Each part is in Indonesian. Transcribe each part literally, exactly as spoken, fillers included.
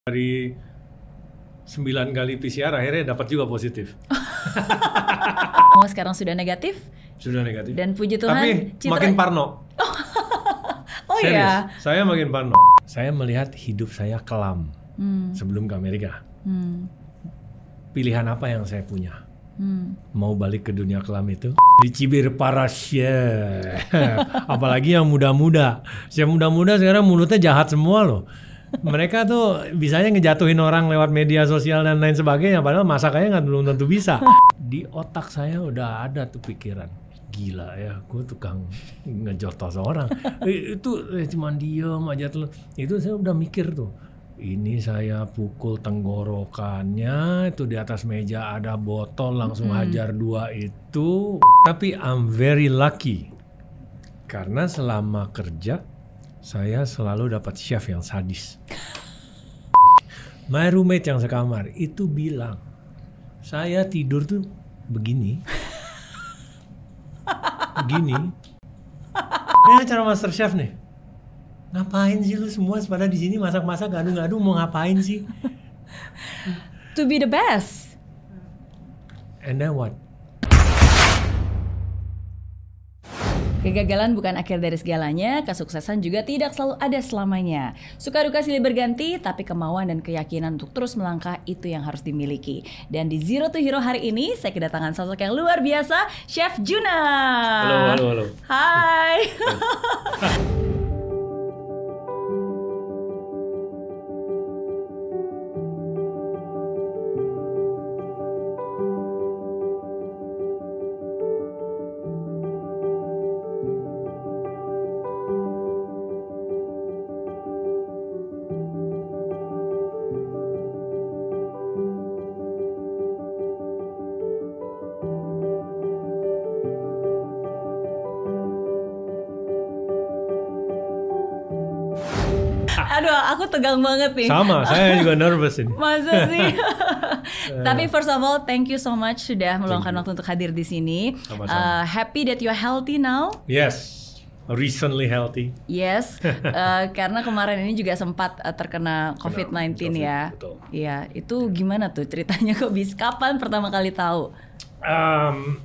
Dari sembilan kali P C R akhirnya dapat juga positif. Oh, sekarang sudah negatif? Sudah negatif. Dan puji Tuhan, tapi citra... makin parno. Oh Serius, ya. saya makin parno. Saya melihat hidup saya kelam hmm. sebelum ke Amerika. Hmm. Pilihan apa yang saya punya? Hmm. Mau balik ke dunia kelam itu? Dicibir para chef. Apalagi yang muda-muda. Yang muda-muda sekarang mulutnya jahat semua loh. Mereka tuh bisanya ngejatuhin orang lewat media sosial dan lain sebagainya, padahal masakannya nggak belum tentu bisa. Di otak saya udah ada tuh pikiran, gila ya, gue tukang ngejotos orang. eh, itu eh, cuman diem aja tuh. Itu saya udah mikir tuh, ini saya pukul tenggorokannya, itu di atas meja ada botol, langsung mm-hmm. hajar dua itu. Tapi I'm very lucky karena selama kerja saya selalu dapat chef yang sadis. My roommate yang sekamar itu bilang, saya tidur tuh begini. Begini. Ini acara Master Chef nih. Ngapain sih lu semua pada di sini masak-masak ngadu-ngadu, mau ngapain sih? To be the best. And then what? Kegagalan bukan akhir dari segalanya, kesuksesan juga tidak selalu ada selamanya. Suka duka silih berganti, tapi kemauan dan keyakinan untuk terus melangkah itu yang harus dimiliki. Dan di Zero to Hero hari ini, saya kedatangan sosok yang luar biasa, Chef Juna. Halo, halo, halo. Hai. Aduh, aku tegang banget nih. Sama, saya juga nervous ini. Masa sih? Tapi first of all, thank you so much sudah meluangkan waktu untuk hadir di sini. Uh, happy that you are healthy now. Yes, recently healthy. Yes, uh, karena kemarin ini juga sempat uh, terkena covid sembilan belas ya. Betul. Iya, itu gimana tuh ceritanya, kok bisa? Kapan pertama kali tahu? Um,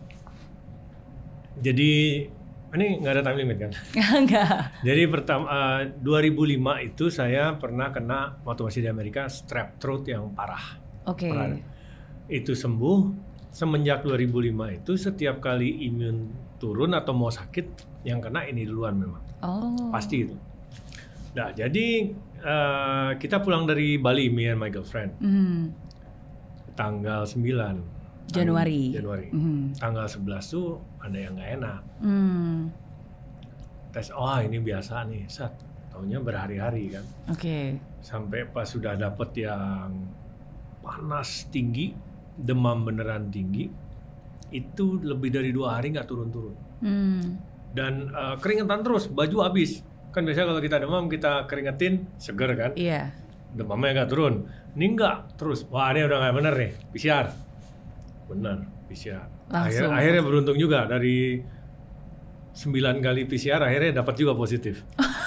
jadi ini nggak ada time limit kan? Nggak. Jadi pertama uh, dua ribu lima itu saya pernah kena waktu masih di Amerika strep throat yang parah. Oke. Okay. Itu sembuh. Semenjak dua ribu lima itu setiap kali imun turun atau mau sakit, yang kena ini duluan memang. Oh. Pasti itu. Nah jadi uh, kita pulang dari Bali, me and my girlfriend. Mm. Tanggal sembilan. Januari. Januari. Mm. Tanggal sebelas tuh ada yang nggak enak. Mm. Tes, oh ini biasa nih, Sat. Taunya berhari-hari kan. Oke. Okay. Sampai pas sudah dapet yang panas tinggi, demam beneran tinggi, itu lebih dari dua hari nggak turun-turun. Mm. Dan uh, keringetan terus, baju habis. Kan biasanya kalau kita demam kita keringetin, seger kan. Iya. Yeah. Demamnya nggak turun. Ini nggak terus. Wah ini udah nggak bener nih, P C R. Benar, P C R. Akhir, akhirnya beruntung juga dari sembilan kali P C R akhirnya dapat juga positif.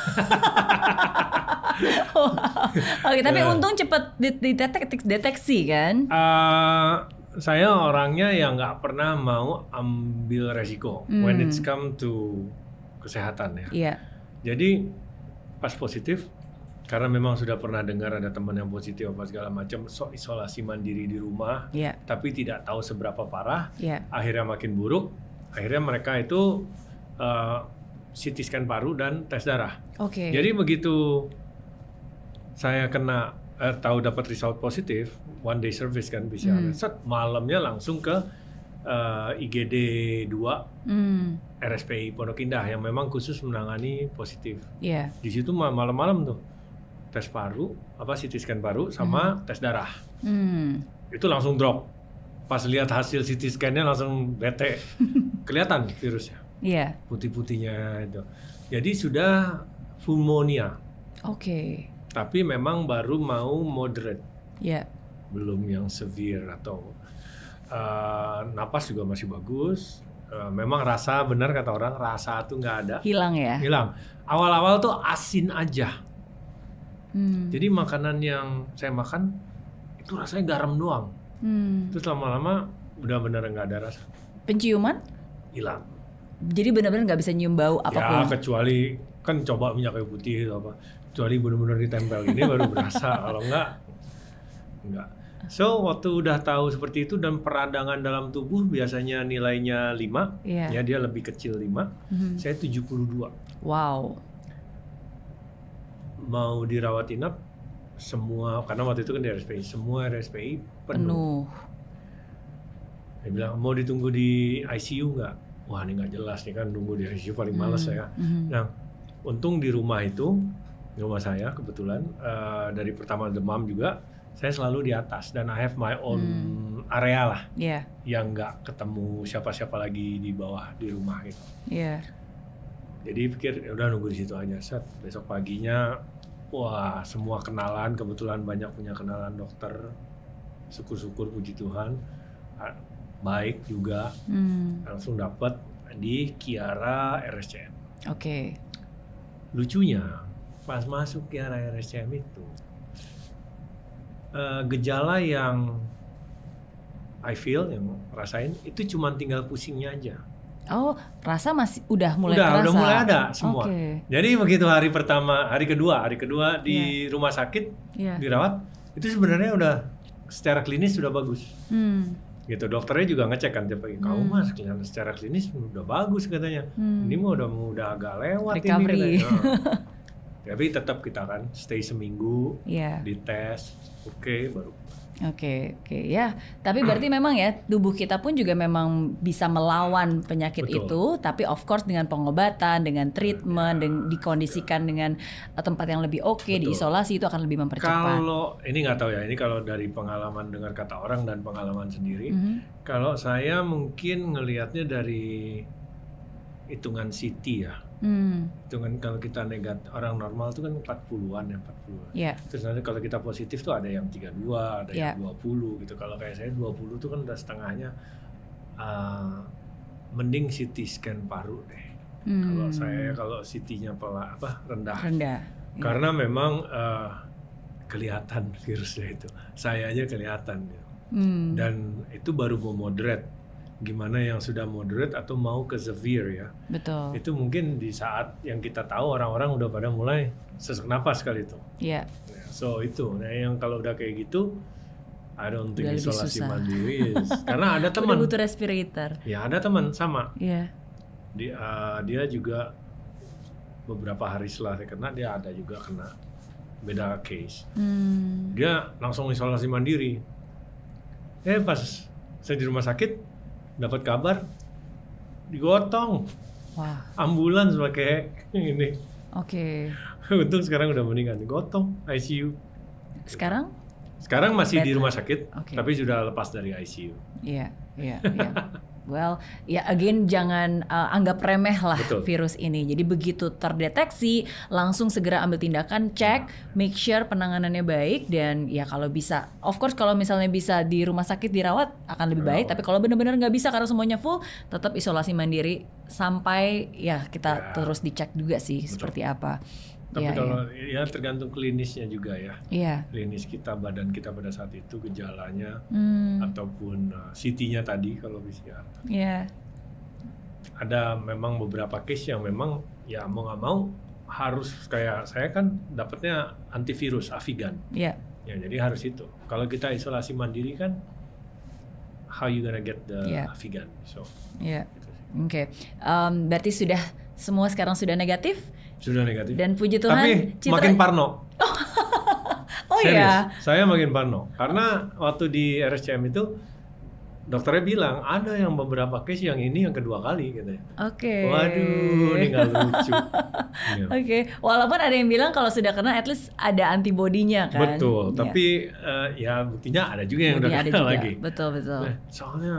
Wow. Oke, tapi uh, untung cepat dideteksi deteksi kan? Uh, saya orangnya yang nggak pernah mau ambil resiko hmm. when it's come to kesehatan ya. Yeah. Jadi pas positif, karena memang sudah pernah dengar ada teman yang positif apa segala macam, so isolasi mandiri di rumah, yeah. tapi tidak tahu seberapa parah, yeah. akhirnya makin buruk, akhirnya mereka itu uh, C T scan paru dan tes darah. Okay. Jadi begitu saya kena eh, tahu dapat result positif, one day service kan bisa, hmm. set malamnya langsung ke uh, I G D dua hmm. R S P I Pondok Indah yang memang khusus menangani positif. Yeah. Di situ malam-malam tuh tes paru, apa C T scan paru sama hmm. tes darah. Hmm. Itu langsung drop. Pas lihat hasil C T scan-nya langsung bete. Kelihatan virusnya. Iya. Yeah. Putih-putihnya itu. Jadi sudah pneumonia. Oke. Okay. Tapi memang baru mau moderate. Iya. Yeah. Belum yang severe atau uh, napas juga masih bagus. Uh, memang rasa, benar kata orang, rasa tuh nggak ada. Hilang ya? Hilang. Awal-awal tuh asin aja. Hmm. Jadi makanan yang saya makan itu rasanya garam doang. Hmm. Terus lama-lama udah bener nggak ada rasa. Penciuman? Hilang. Jadi benar-benar nggak bisa nyium bau apapun. Ya kecuali kan coba minyak kayu putih itu apa. Kecuali benar-benar ditempel ini baru berasa. Kalau enggak, enggak. So waktu udah tahu seperti itu dan peradangan dalam tubuh biasanya nilainya lima, yeah. ya dia lebih kecil lima, mm-hmm. saya tujuh puluh dua. Wow. Mau dirawat inap semua, karena waktu itu kan di R S P I, semua R S P I penuh. penuh. Dia bilang mau ditunggu di I C U nggak? Wah ini nggak jelas nih kan, nunggu di I C U paling males mm-hmm. saya. Mm-hmm. Nah untung di rumah itu, di rumah saya kebetulan uh, dari pertama demam juga. Saya selalu di atas dan I have my own hmm. area lah, yeah. yang nggak ketemu siapa-siapa lagi di bawah di rumah gitu. Yeah. Jadi pikir ya udah nunggu di situ aja. Set besok paginya, wah semua kenalan, kebetulan banyak punya kenalan dokter, syukur-syukur puji Tuhan, baik juga, hmm. langsung dapat di Kiara R S C M. Oke. Okay. Lucunya pas masuk Kiara R S C M itu. Uh, gejala yang I feel, yang rasain itu cuma tinggal pusingnya aja. Oh, rasa masih udah mulai udah, terasa? Udah mulai ada semua. Okay. Jadi begitu hari pertama, hari kedua, hari kedua di yeah. rumah sakit yeah. dirawat, itu sebenarnya udah secara klinis sudah bagus. Hmm. Gitu dokternya juga ngecek kan tiap pagi. Hmm. Kamu mas kelihatan secara klinis udah bagus katanya. Hmm. Ini mah udah udah agak lewat recovery. Ini katanya. Tapi tetap kita kan stay seminggu, yeah. dites, oke okay, baru. Oke, okay, oke okay. ya. Tapi berarti memang ya tubuh kita pun juga memang bisa melawan penyakit Betul. Itu, tapi of course dengan pengobatan, dengan treatment, ya. dengan dikondisikan dengan tempat yang lebih oke, okay, diisolasi itu akan lebih mempercepat. Kalau ini nggak tahu ya, ini kalau dari pengalaman dengar kata orang dan pengalaman sendiri, mm-hmm. kalau saya mungkin ngelihatnya dari hitungan C T ya. Hmm. Itu kan kalau kita negatif, orang normal itu kan empat puluhan ya, empat puluh. Yeah. Terus nanti kalau kita positif tuh ada yang tiga puluh dua, ada yeah. yang dua puluh gitu. Kalau kayak saya dua puluh tuh kan udah setengahnya, uh, mending C T scan paru deh. Hmm. Kalau saya kalau C T-nya pela, apa rendah. Rendah. Karena yeah. memang uh, kelihatan virusnya itu. Saya aja kelihatan gitu. Hmm. Dan itu baru mau moderate. Gimana yang sudah moderate atau mau ke severe ya. Betul. Itu mungkin di saat yang kita tahu orang-orang udah pada mulai sesak napas kali itu. Iya. Yeah. So itu, nah yang kalau udah kayak gitu, I don't think isolasi mandiri is. Karena ada teman. Udah butuh respirator. Ya ada teman sama. Iya. Yeah. Dia, uh, dia juga beberapa hari setelah saya kena, dia ada juga kena beda case. Hmm. Dia langsung isolasi mandiri. Eh pas saya di rumah sakit, dapat kabar digotong. Wah. Ambulans pakai ini. Oke. Okay. Untung sekarang udah meninggal, digotong I C U. Sekarang? Sekarang masih Better. Di rumah sakit, okay. tapi sudah lepas dari I C U. Iya, iya, iya. Well, ya again jangan uh, anggap remeh lah Betul. Virus ini. Jadi begitu terdeteksi langsung segera ambil tindakan, cek, make sure penanganannya baik dan ya kalau bisa, of course kalau misalnya bisa di rumah sakit dirawat akan lebih baik. Rawat. Tapi kalau benar-benar nggak bisa karena semuanya full, tetap isolasi mandiri sampai ya kita ya. Terus dicek juga sih Betul. Seperti apa. Tapi ya, kalau ya. ya tergantung klinisnya juga ya. Iya. Klinis kita, badan kita pada saat itu gejalanya hmm. ataupun uh, C T-nya tadi kalau P C R. Iya. Ada memang beberapa case yang memang ya mau nggak mau harus kayak saya kan dapatnya antivirus Avigan. Iya. Ya jadi harus itu. Kalau kita isolasi mandiri kan how you gonna get the yeah. Avigan. So. Iya. Gitu Oke. Okay. Um, berarti sudah semua sekarang sudah negatif? Sudah negatif. Dan puji Tuhan. Tapi citra... makin parno. Oh iya. Saya makin parno. Karena waktu di R S C M itu dokternya bilang ada yang beberapa case yang ini yang kedua kali katanya. Oke. Okay. Waduh, ini nggak lucu. Ya. Oke. Okay. Walaupun ada yang bilang kalau sudah kena at least ada antibodinya kan. Betul. Ya. Tapi uh, ya buktinya ada juga yang Buktinya udah kena lagi. Betul betul. Nah, soalnya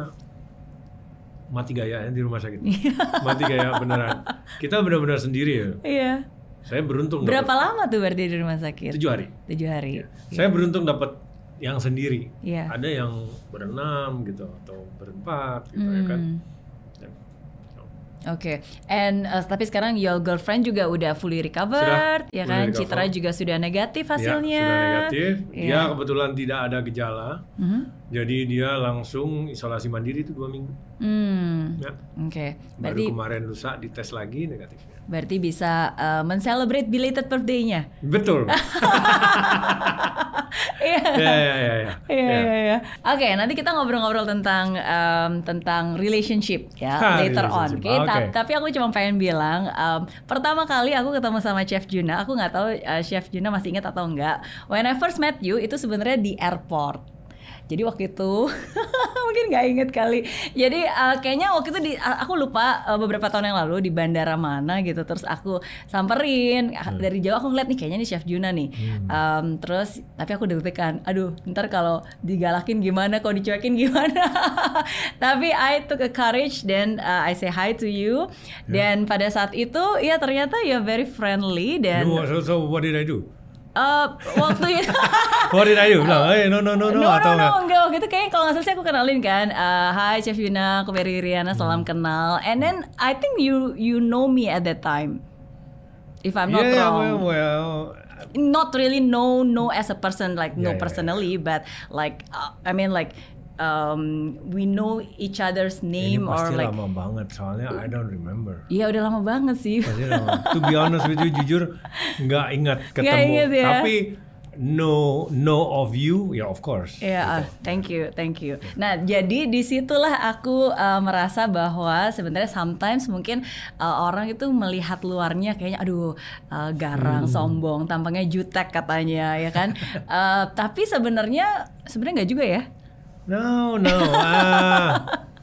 mati gaya di rumah sakit. Mati gaya beneran. Kita benar-benar sendiri ya. Iya. Saya beruntung. Berapa dapet, lama tuh berarti di rumah sakit? Tujuh hari. Tujuh hari. Ya. Saya beruntung dapat yang sendiri. Iya. Ada yang berenam gitu atau berempat gitu hmm. ya kan. Oke, okay. and uh, tapi sekarang your girlfriend juga udah fully recovered, sudah, ya kan? Recover. Citra juga sudah negatif hasilnya. Ya, sudah negatif. Ya. Dia kebetulan tidak ada gejala, Mm-hmm. jadi dia langsung isolasi mandiri itu dua minggu. Hmm. Ya. Oke, okay. Baru kemarin lusa dites lagi negatifnya. Berarti bisa uh, men-celebrate belated birthday-nya. Betul. Iya. Ya, ya, ya, ya. Iya, iya, iya. Oke, nanti kita ngobrol-ngobrol tentang um, tentang relationship ya Ha, later on. relationship. Oke, Oke. Ta- tapi aku cuma pengen bilang, um, pertama kali aku ketemu sama Chef Juna, aku nggak tahu uh, Chef Juna masih ingat atau enggak. When I first met you itu sebenarnya di airport. Jadi waktu itu mungkin nggak inget kali. Jadi uh, kayaknya waktu itu di, uh, aku lupa uh, beberapa tahun yang lalu di bandara mana gitu. Terus aku samperin hmm. dari jauh, aku ngeliat nih kayaknya nih Chef Juna nih. Hmm. Um, terus tapi aku deg-degan. Aduh, ntar kalau digalakin gimana, kalau dicuekin gimana. Tapi I took a courage, then uh, I say hi to you. Yeah. Dan pada saat itu ya ternyata you're very friendly dan. No, so, so what did I do? Uh, waktu itu What did I do? Bilang, hey, no, no, no, no, no, atau no, no, enggak? enggak. Waktu itu kayaknya kalau nggak salah sih aku kenalin kan, uh, Hi Chef Yuna, aku Berry Riana, salam hmm. kenal. And then I think you you know me at that time, if I'm not yeah, wrong. well, well, not really know know as a person, like yeah, know yeah, personally, yeah. but like uh, I mean like um, we know each other's name. Ini pasti or like lama banget soalnya I don't remember. Iya udah lama banget sih. Pasti lama. To be honest with you, jujur nggak ingat ketemu. Nggak ingat ya? Tapi know know of you, ya yeah, of course. Ya, yeah, gitu. uh, thank you, thank you. Nah, jadi disitulah aku uh, merasa bahwa sebenarnya sometimes mungkin uh, orang itu melihat luarnya kayaknya, aduh uh, garang, hmm. sombong, tampangnya jutek katanya, ya kan? uh, tapi sebenarnya sebenarnya nggak juga ya? No, no. Uh,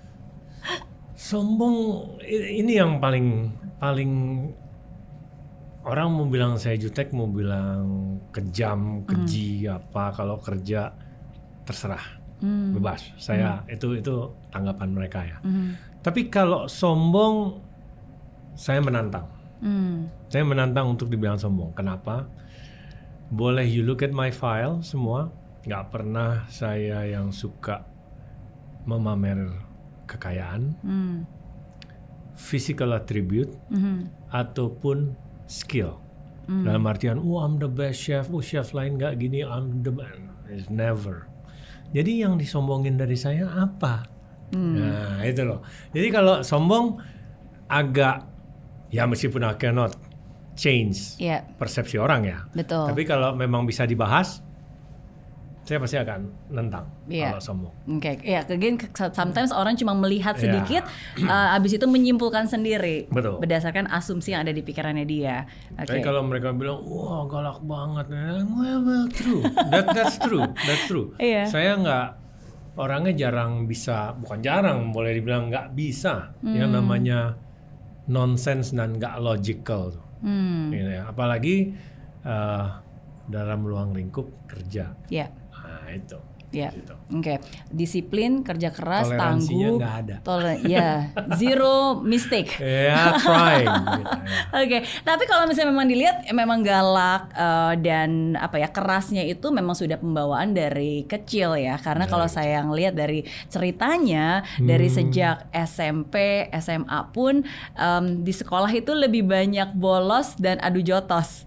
sombong ini yang paling paling orang mau bilang saya jutek, mau bilang kejam, keji mm. apa, kalau kerja terserah, mm. bebas. Saya mm. itu itu tanggapan mereka ya. Mm. Tapi kalau sombong, saya menantang. Mm. Saya menantang untuk dibilang sombong. Kenapa? Boleh you look at my file semua. Nggak pernah saya yang suka memamer kekayaan, mm. physical attribute, mm-hmm. ataupun skill. Mm. Dalam artian, oh I'm the best chef, oh chef lain nggak gini, I'm the man. It's never. Jadi yang disombongin dari saya apa? Mm. Nah itu loh. Jadi kalau sombong agak, ya meskipun I cannot change yeah. persepsi orang ya. Betul. Tapi kalau memang bisa dibahas, saya pasti akan nentang yeah. kalau sombong. Oke, okay. ya, again sometimes orang cuma melihat sedikit, yeah. uh, abis itu menyimpulkan sendiri, betul. Berdasarkan asumsi yang ada di pikirannya dia. Okay. Tapi kalau mereka bilang, wah galak banget, well, well true, that that's true, that's true. Yeah. Saya nggak, orangnya jarang bisa, bukan jarang, boleh dibilang nggak bisa, hmm. yang namanya nonsense dan nggak logical, hmm. gitu ya. Apalagi uh, dalam ruang lingkup kerja. Yeah. Nah, itu. Ya, gitu. Oke. Okay. Disiplin, kerja keras, tangguh. Nggak ada. Toler- ya, zero mistake. Ya, yeah, trying. Gitu, ya. Oke, okay. Tapi kalau misalnya memang dilihat, memang galak uh, dan apa ya kerasnya itu memang sudah pembawaan dari kecil ya. Karena dari kalau saya ngelihat dari ceritanya, hmm. dari sejak S M P, S M A pun um, di sekolah itu lebih banyak bolos dan adu jotos.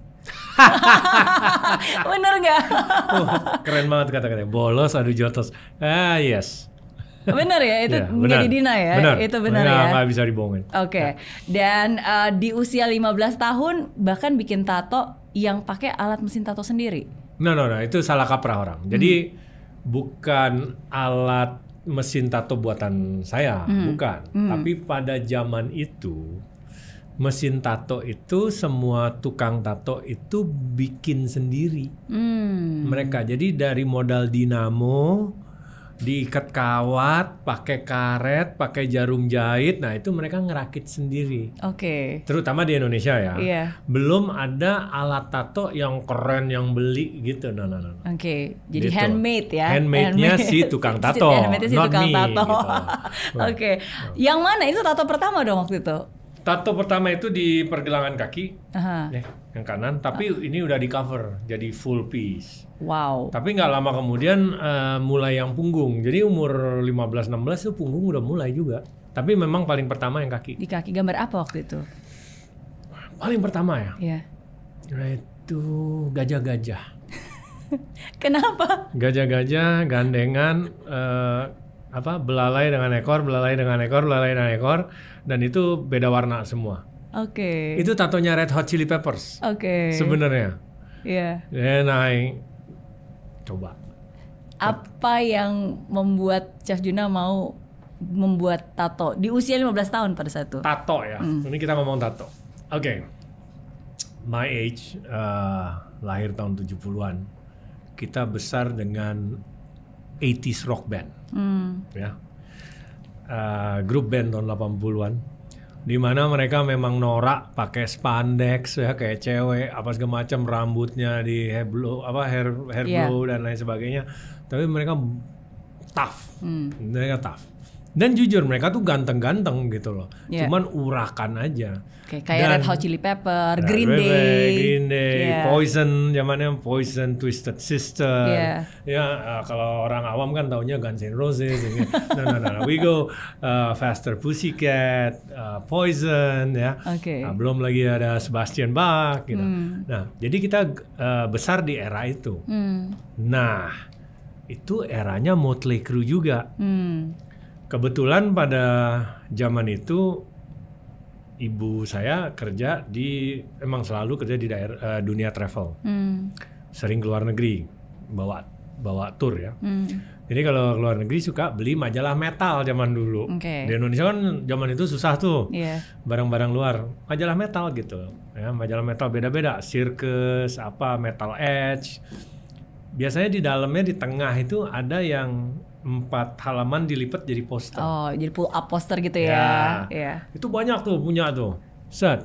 Bener nggak? Oh, keren banget kata-katanya, bolos adu jotos. Ah yes. Bener ya, itu ya, nggak didina ya, bener. Itu benar ya. Nggak bisa dibohongin. Oke, okay. ya. Dan uh, di usia lima belas tahun bahkan bikin tato yang pakai alat mesin tato sendiri. No no no, itu salah kaprah orang. Jadi hmm. bukan alat mesin tato buatan saya, hmm. bukan. Hmm. Tapi pada zaman itu mesin tato itu semua tukang tato itu bikin sendiri hmm. mereka. Jadi dari modal dinamo, diikat kawat, pakai karet, pakai jarum jahit, nah itu mereka ngerakit sendiri. Oke. Okay. Terutama di Indonesia ya. Yeah. Belum ada alat tato yang keren yang beli gitu. No, no, no. Oke. Okay. Jadi gitu. Handmade ya. Handmade-nya si tukang tato, handmade-nya si not tukang me. Tato. Gitu. Oke. Okay. Yang mana itu tato pertama dong waktu itu? Tato pertama itu di pergelangan kaki, uh-huh. ya, yang kanan. Tapi uh. ini udah di cover, jadi full piece. Wow. Tapi nggak lama kemudian uh, mulai yang punggung. Jadi umur lima belas enam belas itu punggung udah mulai juga. Tapi memang paling pertama yang kaki. Di kaki. Gambar apa waktu itu? Paling pertama ya? Iya. Itu gajah-gajah. Kenapa? Gajah-gajah gandengan eh, apa belalai dengan ekor, belalai dengan ekor, belalai dengan ekor, dan itu beda warna semua. Oke. Itu tatonya Red Hot Chili Peppers. Oke. Sebenarnya. Iya. Dan I coba. Apa yang membuat Chef Juna mau membuat tato di usia lima belas tahun pada saat itu? Tato ya. Hmm. Ini kita ngomong tato. Oke. Okay. My age uh, lahir tahun tujuh puluhan. Kita besar dengan eighties rock band. Hmm. Ya. Uh, grup band tahun delapan puluhan. Di mana mereka memang norak pakai spandex ya kayak cewek apa segala macam, rambutnya di hair blow apa hair hair yeah. blow dan lain sebagainya, tapi mereka tough, hmm. mereka tough dan jujur mereka tuh ganteng-ganteng gitu loh, yeah. cuman urakan aja. Okay, kayak Red Hot Chili Pepper, Green Day, Green Day, yeah. Poison, zamannya Poison, Twisted Sister. Yeah. Ya uh, kalau orang awam kan taunya Guns N' Roses. no, no, no, no, we go uh, Faster Pussycat, uh, Poison, ya. Okay. Nah, belum lagi ada Sebastian Bach, gitu. Mm. Nah, jadi kita uh, besar di era itu. Mm. Nah, itu eranya Motley Crue juga. Mm. Kebetulan pada zaman itu ibu saya kerja di, emang selalu kerja di daerah uh, dunia travel, hmm. sering keluar negeri, bawa bawa tour ya. Hmm. Jadi kalau keluar negeri suka beli majalah metal zaman dulu. Okay. Di Indonesia kan zaman itu susah tuh, yeah. barang-barang luar, majalah metal gitu. Ya, majalah metal beda-beda, Circus, apa, Metal Edge. Biasanya di dalamnya di tengah itu ada yang empat halaman dilipat jadi poster. Oh, jadi pull up poster gitu ya. Ya. Yeah. Itu banyak tuh punya tuh. Set.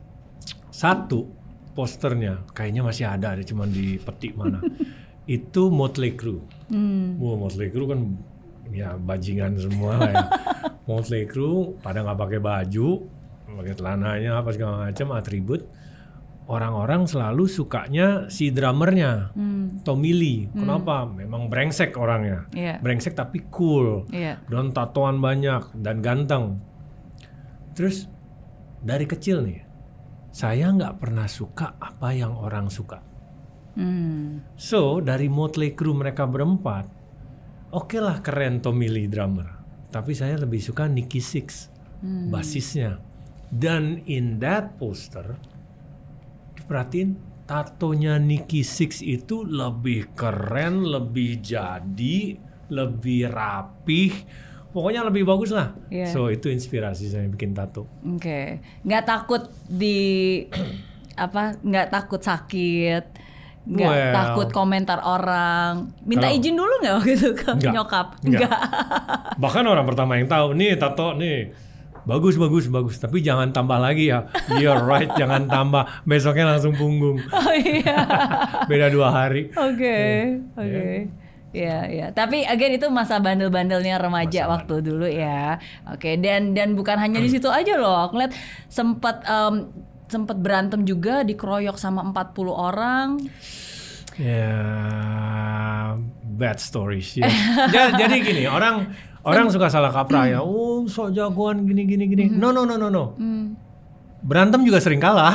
Satu posternya kayaknya masih ada, ada cuman di peti mana. Itu Motley Crue. Hmm. Wah, Motley Crue kan ya bajingan semua lah ya. Motley Crue pada nggak pakai baju, pakai celananya apa segala macam atribut. Orang-orang selalu sukanya si drummernya, hmm. Tommy Lee. Kenapa? Hmm. Memang brengsek orangnya, yeah. brengsek tapi cool, yeah. dan tatoan banyak dan ganteng. Terus dari kecil nih, saya nggak pernah suka apa yang orang suka. Hmm. So dari Motley Crue mereka berempat, oke okay lah keren Tommy Lee drummer, tapi saya lebih suka Nikki Sixx, hmm. basisnya. Dan in that poster perhatiin tatonya Nikki Sixx itu lebih keren, lebih jadi, lebih rapih, pokoknya lebih bagus lah. Yeah. So itu inspirasi saya bikin tato. Oke, okay. Nggak takut di apa? Nggak takut sakit, nggak well, takut komentar orang. Minta kalau, izin dulu nggak waktu itu ke enggak, nyokap? Enggak. Bahkan orang pertama yang tahu nih tato nih. Bagus, bagus, bagus. Tapi jangan tambah lagi ya. You're right, jangan tambah. Besoknya langsung punggung. Oh iya. Beda dua hari. Oke, oke. Ya, ya. Tapi again itu masa bandel-bandelnya remaja masa waktu bandel. Dulu ya. Oke, okay. dan dan bukan hanya di situ aja loh. Aku lihat sempat um, sempat berantem juga, dikeroyok sama empat puluh orang. Ya, yeah, bad stories. Ya. Jadi gini, orang Orang suka salah kaprah ya, oh sok jagoan gini gini gini. Mm-hmm. No no no no no. Mm. Berantem juga sering kalah.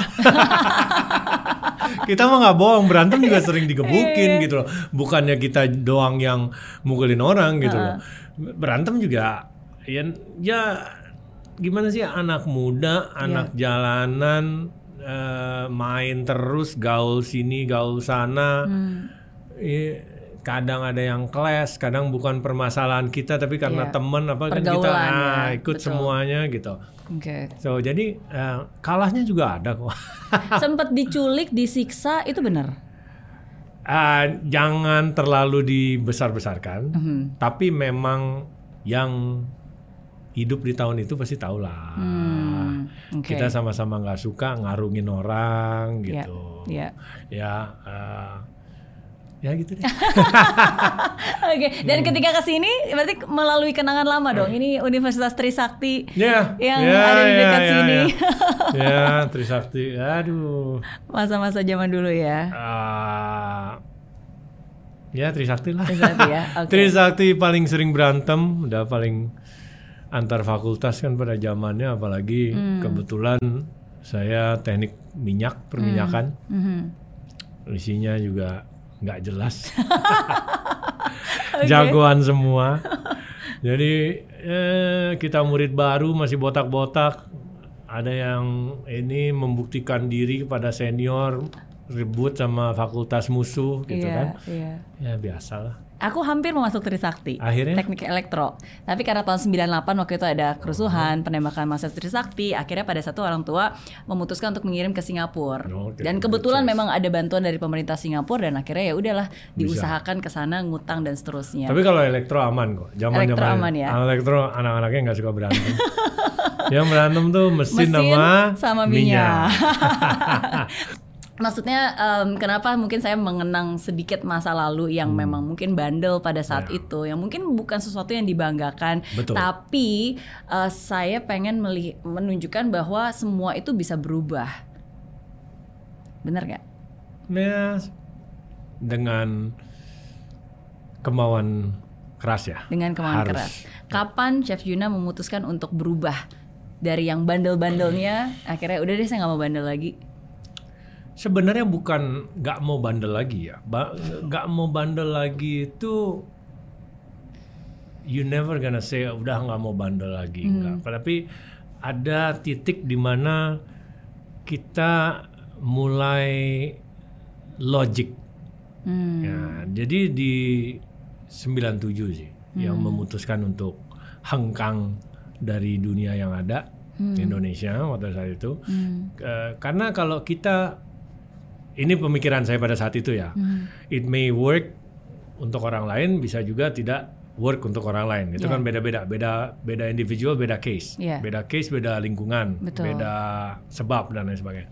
Kita mah nggak bohong, berantem juga sering digebukin gitu loh. Bukannya kita doang yang mukulin orang gitu uh. loh. Berantem juga ya, ya gimana sih, anak muda, anak yeah. jalanan, uh, main terus, gaul sini gaul sana. Mm. Ya, kadang ada yang clash, kadang bukan permasalahan kita tapi karena yeah. temen apa kan kita nah, ikut betul. Semuanya gitu. Oke. Okay. So jadi uh, kalahnya juga ada kok. Sempet diculik, disiksa, itu benar? Uh, jangan terlalu dibesar-besarkan. Mm-hmm. Tapi memang yang hidup di tahun itu pasti tahu lah. Hmm, okay. Kita sama-sama nggak suka ngarungin orang gitu. Yeah. Yeah. Ya. Uh, Ya gitu deh. Oke, okay. Dan hmm. ketika kesini berarti melalui kenangan lama dong. Ini Universitas Trisakti yeah. yang yeah, ada di dekat yeah, sini. Ya, yeah. yeah, Trisakti. Aduh. Masa-masa zaman dulu ya. Uh, ya Trisakti lah. Trisakti ya. Okay. Trisakti paling sering berantem, udah paling antar fakultas kan pada zamannya, apalagi hmm. kebetulan saya teknik minyak perminyakan, hmm. Hmm. isinya juga nggak jelas, okay. jagoan semua. Jadi eh, kita murid baru masih botak-botak, ada yang ini membuktikan diri kepada senior, ribut sama fakultas musuh gitu yeah, kan, yeah. ya biasalah. Aku hampir mau masuk Trisakti, akhirnya? Teknik elektro. Tapi karena tahun sembilan puluh delapan waktu itu ada kerusuhan, oh. penembakan mahasiswa Trisakti, akhirnya pada satu orang tua memutuskan untuk mengirim ke Singapura. Oh, okay. Dan kebetulan memang ada bantuan dari pemerintah Singapura dan akhirnya ya udahlah diusahakan ke sana, ngutang dan seterusnya. Tapi kalau elektro aman kok. Zaman-zaman elektro aman ya. Elektro anak-anaknya nggak suka berantem. Yang berantem tuh mesin, mesin sama, sama minyak. Maksudnya um, kenapa mungkin saya mengenang sedikit masa lalu yang hmm. memang mungkin bandel pada saat ya. itu, yang mungkin bukan sesuatu yang dibanggakan. Betul. Tapi uh, saya pengen meli- menunjukkan bahwa semua itu bisa berubah. Benar gak? Ya, dengan kemauan keras ya. Dengan kemauan Harus. keras. Kapan Chef Juna memutuskan untuk berubah dari yang bandel-bandelnya, akhirnya udah deh saya nggak mau bandel lagi? Sebenarnya bukan nggak mau bandel lagi ya, nggak mau bandel lagi itu you never gonna say udah nggak mau bandel lagi, hmm. nggak. Tapi ada titik di mana kita mulai logic. Hmm. Ya, jadi di sembilan puluh tujuh sih hmm. yang memutuskan untuk hengkang dari dunia yang ada hmm. Indonesia waktu saat itu. Hmm. Uh, karena kalau kita ini pemikiran saya pada saat itu ya. Hmm. It may work untuk orang lain, bisa juga tidak work untuk orang lain. Itu yeah. kan beda-beda, beda beda individual, beda case. Yeah. Beda case, beda lingkungan, Betul. beda sebab dan lain sebagainya.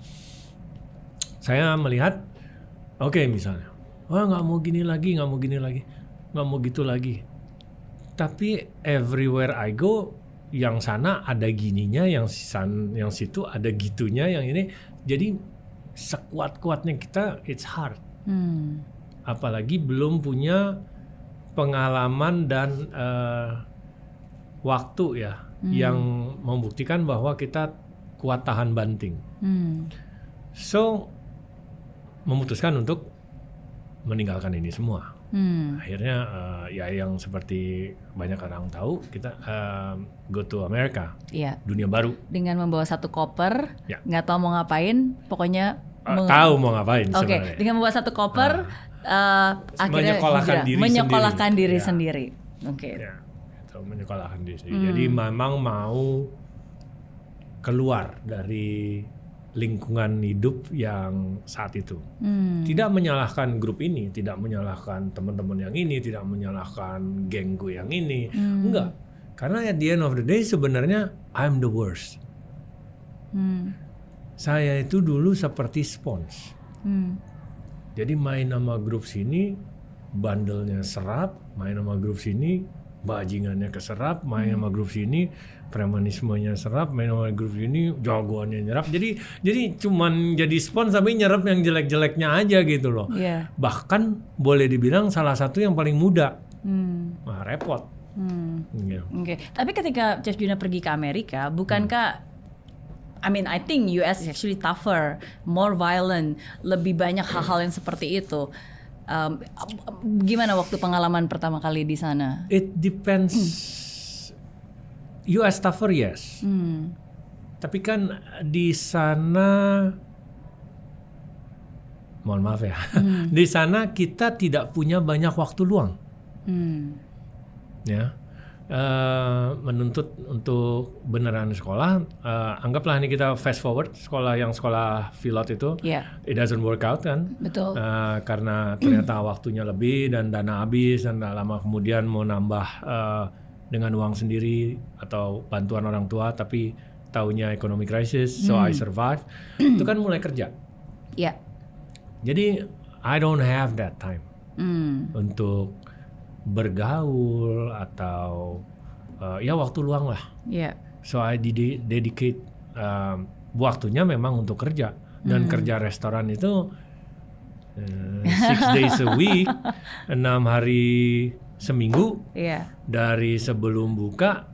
Saya melihat, oke okay, misalnya, wah nggak mau gini lagi, nggak mau gini lagi, nggak mau gitu lagi. Tapi everywhere I go, yang sana ada gininya, yang san, yang situ ada gitunya, yang ini. Jadi sekuat-kuatnya kita, it's hard. Hmm. Apalagi belum punya pengalaman dan uh, waktu ya, hmm. yang membuktikan bahwa kita kuat tahan banting. Hmm. So, memutuskan untuk meninggalkan ini semua. Hmm. Akhirnya uh, ya yang seperti banyak orang tahu, kita uh, go to America, yeah. dunia baru. Dengan membawa satu koper, nggak yeah. tahu mau ngapain, pokoknya uh, meng- tahu mau ngapain. Oke, okay. dengan membawa satu koper, uh, uh, akhirnya menyekolahkan diri, menyekolahkan sendiri, diri ya. sendiri. Oke. Okay. Ya, itu menyekolahkan diri sendiri. Hmm. Jadi memang mau keluar dari lingkungan hidup yang saat itu. Hmm. Tidak menyalahkan grup ini, tidak menyalahkan teman-teman yang ini, tidak menyalahkan gengku yang ini. Hmm. Enggak. Karena at the end of the day sebenarnya I'm the worst. Hmm. Saya itu dulu seperti spons. Hmm. Jadi main sama grup sini, bandelnya serap, main sama grup sini, bajingannya keserap, main hmm. sama grup sini, premanismenya serap, main sama grup ini, jagoannya nyerap. Jadi jadi cuman jadi spons tapi nyerap yang jelek-jeleknya aja gitu loh. Yeah. Bahkan boleh dibilang salah satu yang paling muda. Hmm. Nah, repot. Hmm. Yeah. Oke. Okay. Tapi ketika Chef Juna pergi ke Amerika, bukankah hmm. I mean I think U S is actually tougher, more violent, lebih banyak hal-hal yang seperti itu. Um, gimana waktu pengalaman pertama kali di sana? It depends. Hmm. U S tougher yes, hmm. tapi kan di sana, mohon maaf ya, hmm. di sana kita tidak punya banyak waktu luang, hmm. ya, uh, menuntut untuk beneran sekolah. Uh, anggaplah ini kita fast forward sekolah yang sekolah pilot itu, yeah. it doesn't work out kan, betul, uh, karena ternyata waktunya lebih dan dana habis dan lama kemudian mau nambah. Uh, dengan uang sendiri atau bantuan orang tua, tapi taunya ekonomi krisis, so hmm. I survive. Itu kan mulai kerja. Yeah. Jadi I don't have that time hmm. untuk bergaul atau uh, ya waktu luang lah. Yeah. So I ded- dedicate um, waktunya memang untuk kerja dan hmm. kerja restoran itu uh, six days a week, enam hari seminggu, yeah. dari sebelum buka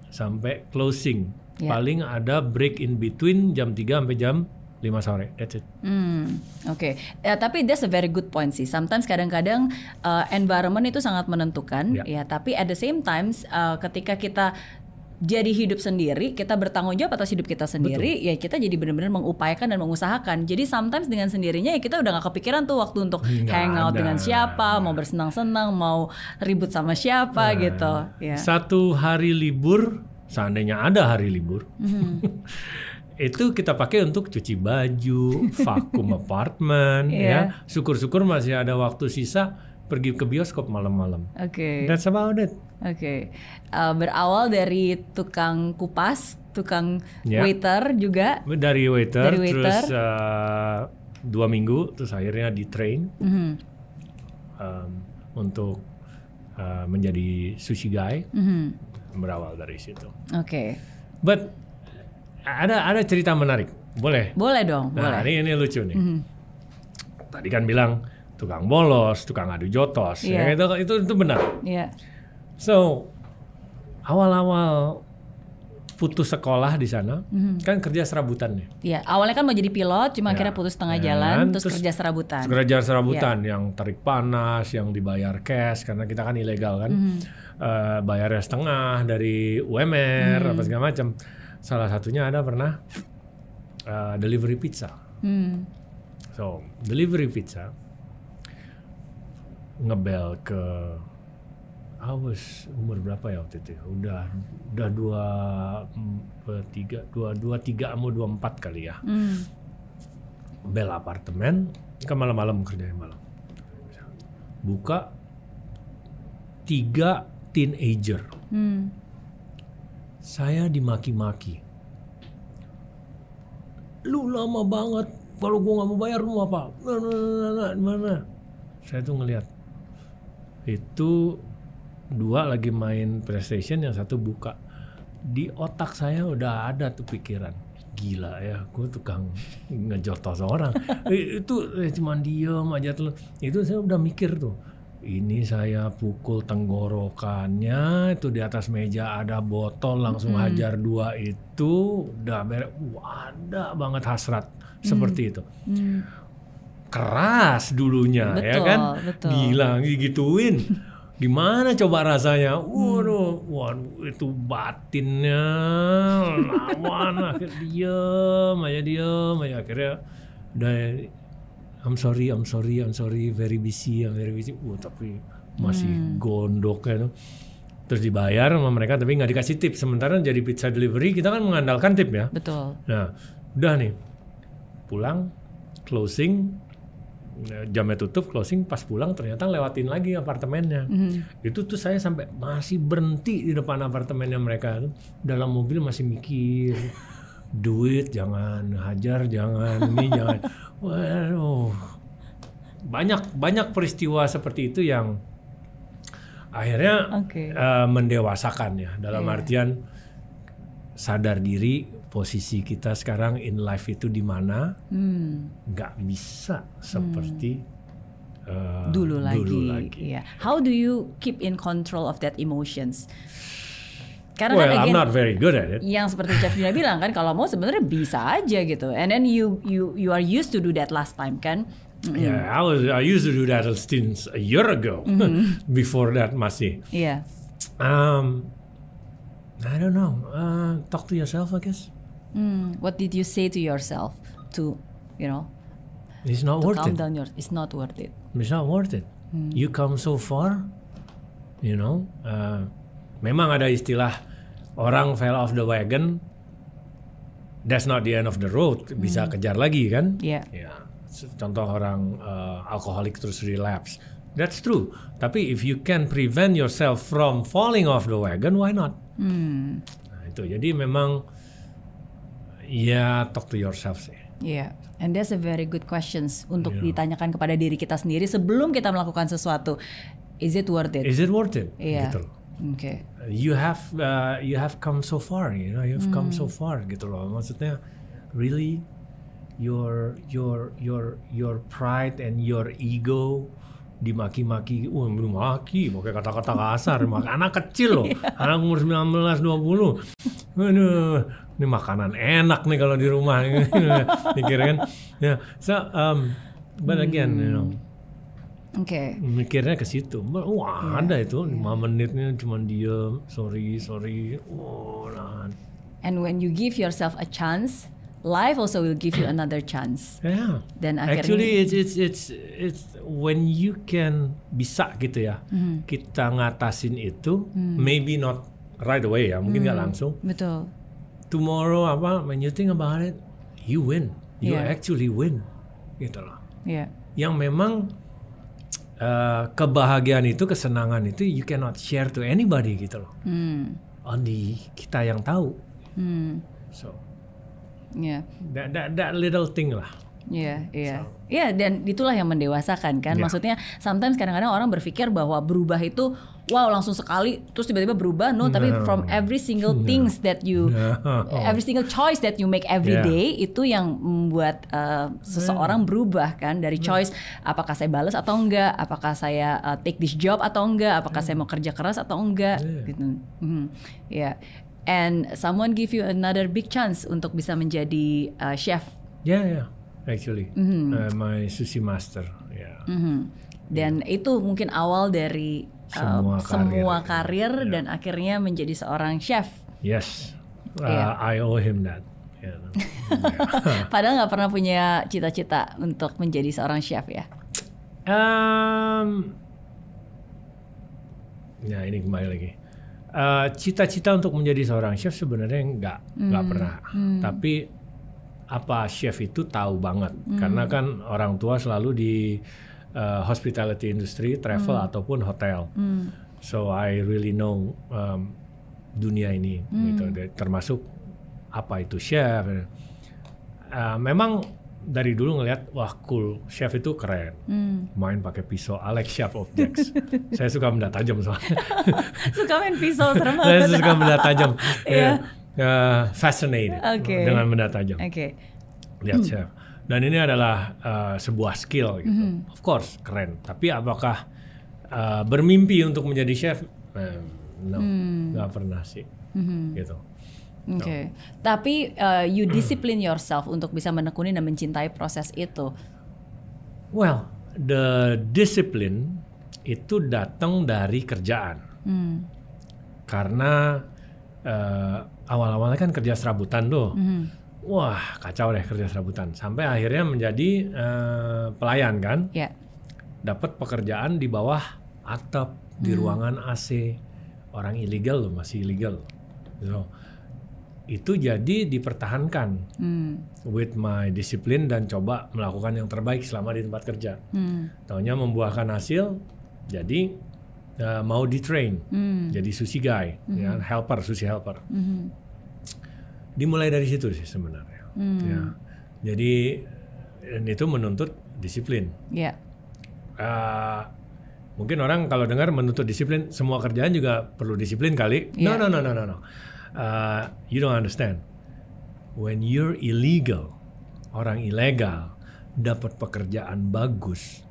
sampai closing. Yeah. Paling ada break in between jam tiga sampai jam lima sore. That's it. Hmm, oke. Okay. Ya, tapi that's a very good point sih. Sometimes kadang-kadang uh, environment itu sangat menentukan, Yeah. ya. Tapi at the same times, uh, ketika kita jadi hidup sendiri, kita bertanggung jawab atas hidup kita sendiri. Betul. Ya kita jadi benar-benar mengupayakan dan mengusahakan. Jadi sometimes dengan sendirinya ya kita udah gak kepikiran tuh waktu untuk nggak hangout ada. Dengan siapa, mau bersenang-senang, mau ribut sama siapa nah, gitu. Ya. Satu hari libur, seandainya ada hari libur. Mm-hmm. Itu kita pakai untuk cuci baju, vakum apartemen, yeah. ya. Syukur-syukur masih ada waktu sisa pergi ke bioskop malam-malam. Oke. Okay. That's about it. Oke. Okay. Uh, berawal dari tukang kupas, tukang yeah. waiter juga. Dari waiter, dari waiter. terus uh, dua minggu, terus akhirnya di train mm-hmm. um, untuk uh, menjadi sushi guy. Mm-hmm. Berawal dari situ. Oke. Okay. But ada ada cerita menarik, boleh? Boleh dong, nah, boleh. Ini ini lucu nih. Mm-hmm. Tadi kan bilang tukang bolos, tukang adu jotos, yeah. ya, itu itu itu benar. Yeah. So awal-awal putus sekolah di sana, mm-hmm. kan kerja serabutan nih. Iya, awalnya kan mau jadi pilot, cuma akhirnya putus tengah yeah. jalan, terus, terus kerja serabutan. Kerja serabutan yeah. yang tarik panas, yang dibayar cash karena kita kan ilegal kan, mm-hmm. uh, bayarnya setengah dari U M R mm-hmm. apa segala macam. Salah satunya ada pernah uh, delivery pizza. Mm. So delivery pizza ngebel ke, I was umur berapa ya waktu itu? Udah udah dua tiga dua dua tiga mau dua empat kali ya. Mm. Bel apartemen, kan malam-malam kerjain malam. Buka tiga teenager. Mm. Saya dimaki-maki. Lu lama banget. Kalau gua nggak mau bayar lu apa? Mana? Mana? Saya tuh ngelihat itu dua lagi main PlayStation, yang satu buka. Di otak saya udah ada tuh pikiran, gila ya, gue tukang ngejotos orang. Itu eh, cuman diem aja tuh. Itu saya udah mikir tuh. Ini saya pukul tenggorokannya, itu di atas meja ada botol, langsung mm. hajar dua itu, udah beres. Wah, ada banget hasrat mm. seperti itu. Mm. Keras dulunya, betul, ya kan? Betul. Gila, gituin. Gimana coba rasanya? Waduh, waduh itu batinnya lawan, akhirnya diem aja diem aja akhirnya udah. I'm sorry, I'm sorry, I'm sorry, very busy, I'm very busy. Wah, tapi masih hmm. gondok ya. Terus dibayar sama mereka, tapi nggak dikasih tip. Sementara jadi pizza delivery kita kan mengandalkan tip ya. Betul. Nah, udah nih, pulang, closing, jamnya tutup, closing. Pas pulang ternyata lewatin lagi apartemennya. Mm-hmm. Itu tuh saya sampai masih berhenti di depan apartemennya mereka. Dalam mobil masih mikir. Duit jangan, hajar jangan, ini jangan. Waduh, banyak banyak peristiwa seperti itu yang akhirnya okay. uh, mendewasakan ya. Dalam yeah. artian sadar diri posisi kita sekarang in life itu di mana, nggak hmm. bisa seperti hmm. uh, dulu lagi. Dulu lagi. Yeah. How do you keep in control of that emotions? Karena well, kan again, I'm not very good at it. Yang seperti Chef Dina bilang kan, kalau mau sebenarnya bisa aja gitu. And then you you you are used to do that last time kan? Mm-hmm. Yeah, I was I used to do that since a year ago. Mm-hmm. Before that masih. Yeah. Um, I don't know. Uh, talk to yourself, I guess. Mm. What did you say to yourself to, you know? It's not to worth calm it. down your. It's not worth it. It's not worth it. Mm. You come so far, you know. Uh, memang ada istilah. Orang fell off the wagon, that's not the end of the road. Bisa hmm. kejar lagi kan? Iya. Yeah. Yeah. Contoh orang uh, alkoholik terus relapse, that's true. Tapi if you can prevent yourself from falling off the wagon, why not? Hmm. Nah, itu jadi memang ya talk to yourself sih. Iya. Yeah. And that's a very good questions untuk yeah. ditanyakan kepada diri kita sendiri sebelum kita melakukan sesuatu. Is it worth it? Is it worth it? Iya. Yeah. Gitu. Okay. You have uh, you have come so far, you know, you've hmm. come so far gitu loh. Maksudnya, really, your your your your pride and your ego dimaki-maki, wah belum maki, pakai kata-kata kasar, anak kecil loh, anak umur sembilan belas dua puluh, aduh, ini makanan enak nih kalau di rumah, mikir kan, ya, so, um, but again, you know, okay. mikirnya ke situ, wah yeah. ada itu lima yeah. menitnya cuma diem, sorry, sorry, oh, nah. And when you give yourself a chance, life also will give you another chance. Yeah. Dan akhirnya, actually it's it's it's it's when you can bisa gitu ya, mm-hmm. kita ngatasin itu, mm. maybe not right away ya, mungkin nggak mm. langsung. Betul. Tomorrow apa, when you think about it, you win, you yeah. actually win, gitu loh. Yeah. Yang memang uh, kebahagiaan itu, kesenangan itu, you cannot share to anybody gitu loh. Mm. Only kita yang tahu. Mm. So. Yeah. That, that, that little thing lah. Iya, yeah, iya. Yeah. Iya, yeah, dan itulah yang mendewasakan kan. Yeah. Maksudnya sometimes kadang-kadang orang berpikir bahwa berubah itu wow langsung sekali terus tiba-tiba berubah. No, no. Tapi from every single no. things that you no. every single choice that you make every yeah. day itu yang membuat uh, seseorang yeah. berubah kan dari choice yeah. apakah saya balas atau enggak, apakah saya uh, take this job atau enggak, apakah yeah. saya mau kerja keras atau enggak yeah. gitu. Mm-hmm. Yeah. And someone give you another big chance untuk bisa menjadi uh, chef. Yeah, yeah, actually, mm-hmm. uh, my sushi master. Yeah. Mm-hmm. Dan yeah. itu mungkin awal dari uh, semua karir, semua karir yeah. dan akhirnya menjadi seorang chef. Yes, uh, yeah. I owe him that. Yeah. Padahal nggak pernah punya cita-cita untuk menjadi seorang chef ya. Um, ya ini kembali lagi. Uh, cita-cita untuk menjadi seorang chef sebenarnya nggak nggak hmm. pernah, hmm. tapi apa chef itu tahu banget hmm. karena kan orang tua selalu di uh, hospitality industry, travel hmm. ataupun hotel, hmm. so I really know um, dunia ini, hmm. gitu, termasuk apa itu chef. Uh, memang dari dulu ngelihat wah cool, chef itu keren, hmm. main pakai pisau, I like chef objects. Saya suka benda tajam soalnya. Suka main pisau, serem banget. Saya suka benda tajam, yeah. uh, fascinated okay. dengan benda tajam. Okay. Lihat chef. Dan ini adalah uh, sebuah skill gitu. Mm-hmm. Of course keren, tapi apakah uh, bermimpi untuk menjadi chef? Eh, no, nggak mm. pernah sih, mm-hmm. gitu. Oke, okay. no. Tapi uh, you discipline yourself untuk bisa menekuni dan mencintai proses itu. Well, the discipline itu datang dari kerjaan. Hmm. Karena uh, awal-awalnya kan kerja serabutan tuh. Hmm. Wah, kacau deh kerja serabutan. Sampai akhirnya menjadi uh, pelayan kan. Yeah. Dapat pekerjaan di bawah atap, hmm. di ruangan A C. Orang ilegal loh, masih ilegal. So, itu jadi dipertahankan hmm. with my discipline dan coba melakukan yang terbaik selama di tempat kerja. Hmm. Taunya membuahkan hasil, jadi uh, mau di-train, hmm. jadi sushi guy, hmm. ya, helper, sushi helper. Hmm. Dimulai dari situ sih sebenarnya. Hmm. Ya. Jadi dan itu menuntut disiplin. Yeah. Uh, mungkin orang kalau dengar menuntut disiplin, semua kerjaan juga perlu disiplin kali. Yeah. No, no, no, no, no, no. Uh, you don't understand. When you're illegal, orang ilegal dapat pekerjaan bagus,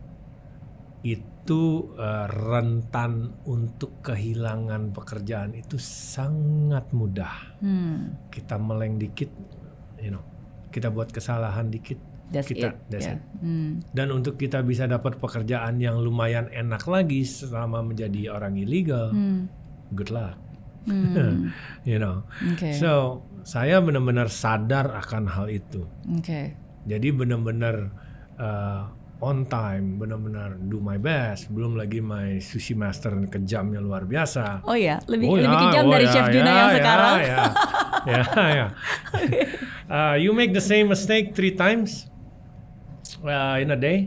itu uh, rentan untuk kehilangan pekerjaan itu sangat mudah. Hmm. Kita meleng dikit, you know, kita buat kesalahan dikit, that's kita, it. that's Yeah. it. Hmm. Dan untuk kita bisa dapat pekerjaan yang lumayan enak lagi selama menjadi orang ilegal, hmm. good luck. Hmm. You know, okay. So saya benar-benar sadar akan hal itu. Okay. Jadi benar-benar uh, on time, benar-benar do my best. Belum lagi my sushi master kejamnya luar biasa. Oh ya, lebih oh, lebih ya, kejam oh, dari ya, Chef ya, Juna ya, yang ya, sekarang. Ya, ya, ya. Uh, you make the same mistake three times uh, in a day,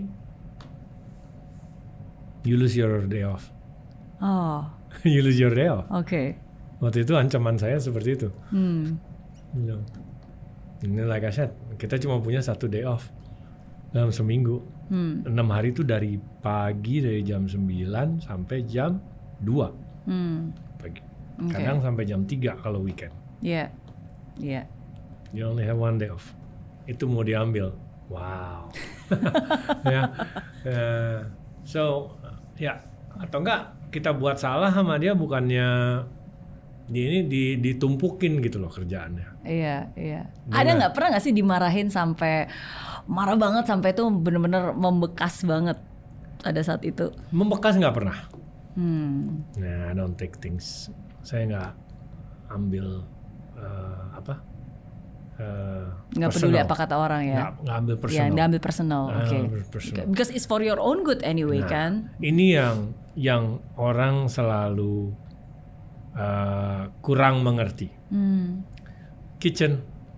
you lose your day off. Oh. You lose your day off. Oke. Okay. Waktu itu ancaman saya seperti itu. Hmm. You know. Ini like I said, kita cuma punya satu day off dalam seminggu. Hmm. Enam hari itu dari pagi dari jam sembilan sampai jam dua hmm. pagi. Okay. Kadang sampai jam tiga kalau weekend. Iya, yeah. Iya. Yeah. You only have one day off. Itu mau diambil. Wow. Ya. Uh, So ya, atau enggak kita buat salah sama dia, bukannya di ini di, ditumpukin gitu loh kerjaannya. Iya, iya. Dia Ada nggak- nggak pernah nggak sih dimarahin sampai marah banget sampai itu bener-bener membekas banget pada saat itu? Membekas nggak pernah. Hmm. Nah, I don't take things. Saya nggak ambil uh, apa? Uh, Nggak peduli apa kata orang ya? Nggak, nggak ambil Ya, personal. nggak ambil personal, Nggak oke. ambil personal. Because it's for your own good anyway Nah, kan? Ini yang yang orang selalu uh, kurang mengerti. Hmm. Kitchen.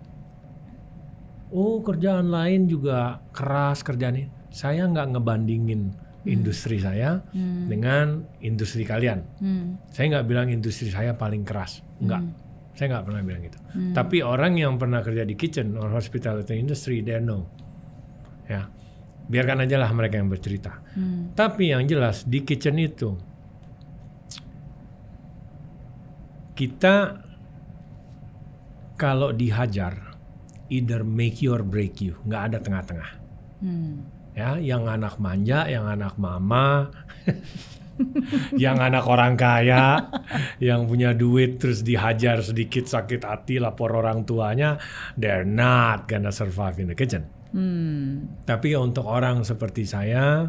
Oh, kerjaan lain juga keras kerjaan ini. Saya nggak ngebandingin industri saya Hmm. dengan industri kalian. Hmm. Saya nggak bilang industri saya paling keras. Nggak. Hmm. Saya nggak pernah bilang gitu. Hmm. Tapi orang yang pernah kerja di kitchen or hospitality industry, they know. Ya, biarkan aja lah mereka yang bercerita. Hmm. Tapi yang jelas di kitchen itu kita kalau dihajar, either make you or break you, nggak ada tengah-tengah. Hmm. Ya, yang anak manja, yang anak mama, yang anak orang kaya, yang punya duit terus dihajar sedikit sakit hati lapor orang tuanya, they're not gonna survive in the kitchen. Hmm. Tapi untuk orang seperti saya,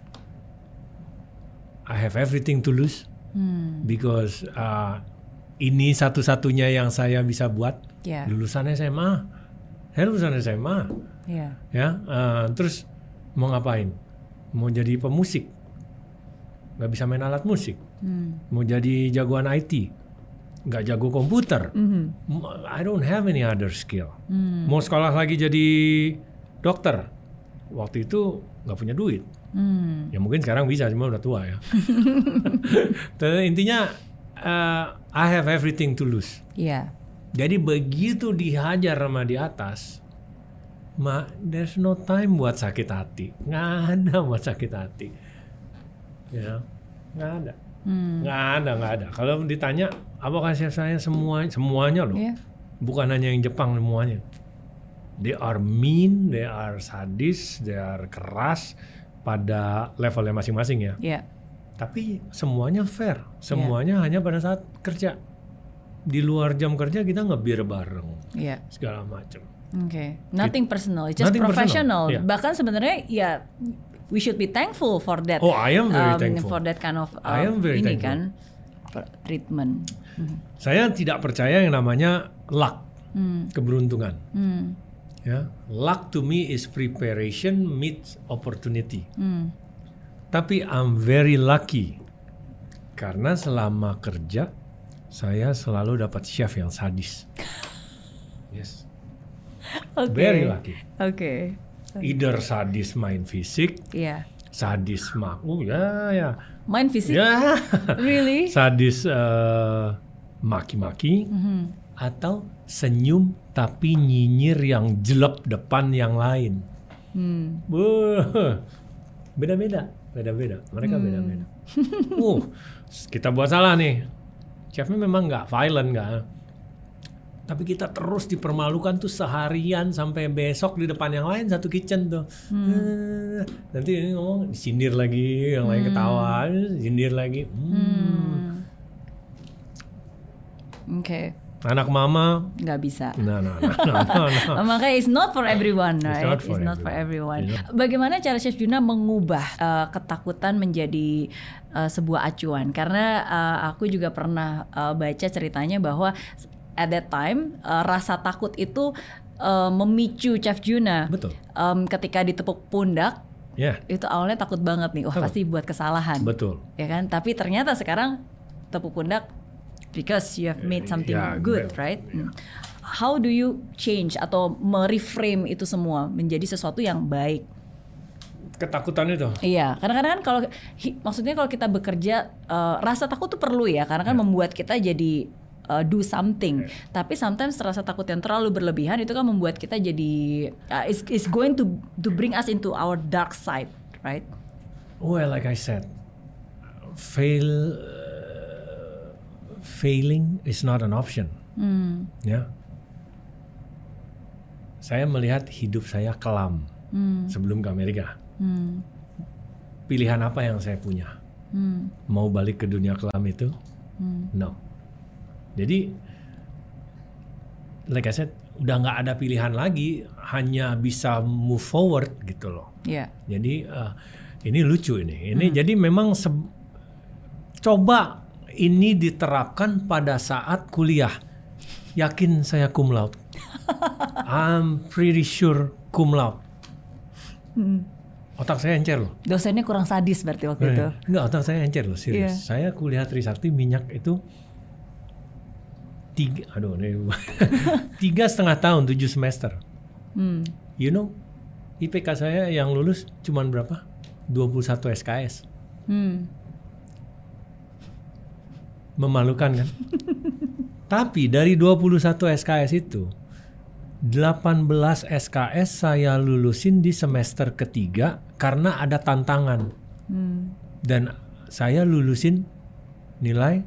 I have everything to lose Hmm. because uh, ini satu-satunya yang saya bisa buat. Ya. Lulusan S M A, saya lulusan S M A, Ya. ya. Uh, terus mau ngapain? Mau jadi pemusik? Nggak bisa main alat musik. Hmm. Mau jadi jagoan I T? Nggak jago komputer. Mhm. I don't have any other skill. Hmm. Mau sekolah lagi jadi dokter? Waktu itu nggak punya duit. Hmm. Ya mungkin sekarang bisa, cuma udah tua ya. Tapi intinya uh, I have everything to lose. Ya. Jadi begitu dihajar sama di atas, ma, there's no time buat sakit hati. Nggak ada buat sakit hati. Ya, nggak ada. Hmm. Nggak ada, nggak ada. Kalau ditanya, apa kasih saya semua, semuanya loh. Ya. Bukan hanya yang Jepang, semuanya. They are mean, they are sadis, they are keras pada levelnya masing-masing ya. Ya. Tapi semuanya fair, semuanya hanya pada saat kerja. Di luar jam kerja kita ngebir bareng, Ya. segala macam. Oke. Nothing personal, it's just Nothing professional. personal, yeah. Bahkan sebenarnya ya we should be thankful for that. Oh, I am very um, thankful. For that kind of um, I am very ini thankful. kan per- treatment. Hmm. Saya tidak percaya yang namanya luck, Hmm. keberuntungan. Hmm. Ya, luck to me is preparation meets opportunity. Hmm. Tapi I'm very lucky karena selama kerja saya selalu dapat chef yang sadis. Yes, Oke. very lucky. Oke. Either sadis main fisik, Iya. sadis mak, oh ya ya, Main fisik? ya, Really? sadis eh, maki-maki, Mhm. atau senyum tapi nyinyir yang jelek depan yang lain. Hmm. Wah, beda-beda, beda-beda. Mereka Hmm. beda-beda. Uh, kita buat salah nih. Chefnya memang nggak violent, nggak. Tapi kita terus dipermalukan tuh seharian sampai besok di depan yang lain satu kitchen tuh. Eh, nanti ini ngomong disindir lagi, yang lain ketawa, sindir lagi. Hmm. Hmm. Oke. Anak mama, Nggak bisa. nah, nah, nah, nah, nah, nah. Makanya it's not for everyone, It's right? not for It's not for everyone. everyone. It's Bagaimana cara Chef Juna mengubah uh, ketakutan menjadi uh, sebuah acuan? Karena uh, aku juga pernah uh, baca ceritanya bahwa at that time uh, rasa takut itu uh, memicu Chef Juna. Betul. Um, ketika ditepuk pundak, Ya, itu awalnya takut banget nih, wah Betul. pasti buat kesalahan, betul. ya kan? Tapi ternyata sekarang tepuk pundak because you have made something Ya, good, betul. right? Hmm. How do you change atau mereframe itu semua menjadi sesuatu yang baik? Ketakutan itu. Iya, kadang-kadang kan kalau hi- maksudnya kalau kita bekerja uh, rasa takut tuh perlu ya, karena kan membuat kita jadi uh, do something. Tapi sometimes rasa takut yang terlalu berlebihan itu kan membuat kita jadi uh, is is going to to bring us into our dark side, right? Well, like I said, fail, uh, failing is not an option. Hmm. Ya, saya melihat hidup saya kelam Hmm. sebelum ke Amerika. Hmm. pilihan apa yang saya punya? Hmm. Mau balik ke dunia kelam itu? Hmm. No. Jadi, like I said, udah nggak ada pilihan lagi, hanya bisa move forward gitu loh. Yeah. Jadi uh, ini lucu ini. Ini hmm. jadi memang se- coba ini diterapkan pada saat kuliah. Yakin saya cum laude. I'm pretty sure cum laude. Hmm. Otak saya encer loh. Dosennya kurang sadis berarti waktu eh, itu. Enggak, otak saya encer loh, serius. Yeah. Saya kuliah Trisakti minyak itu tiga, aduh, tiga setengah tahun, tujuh semester. Hmm. You know, I P K saya yang lulus cuman berapa? dua puluh satu S K S. Hmm. Memalukan kan? Tapi dari dua puluh satu S K S itu, delapan belas S K S saya lulusin di semester ketiga karena ada tantangan. Hmm. Dan saya lulusin nilai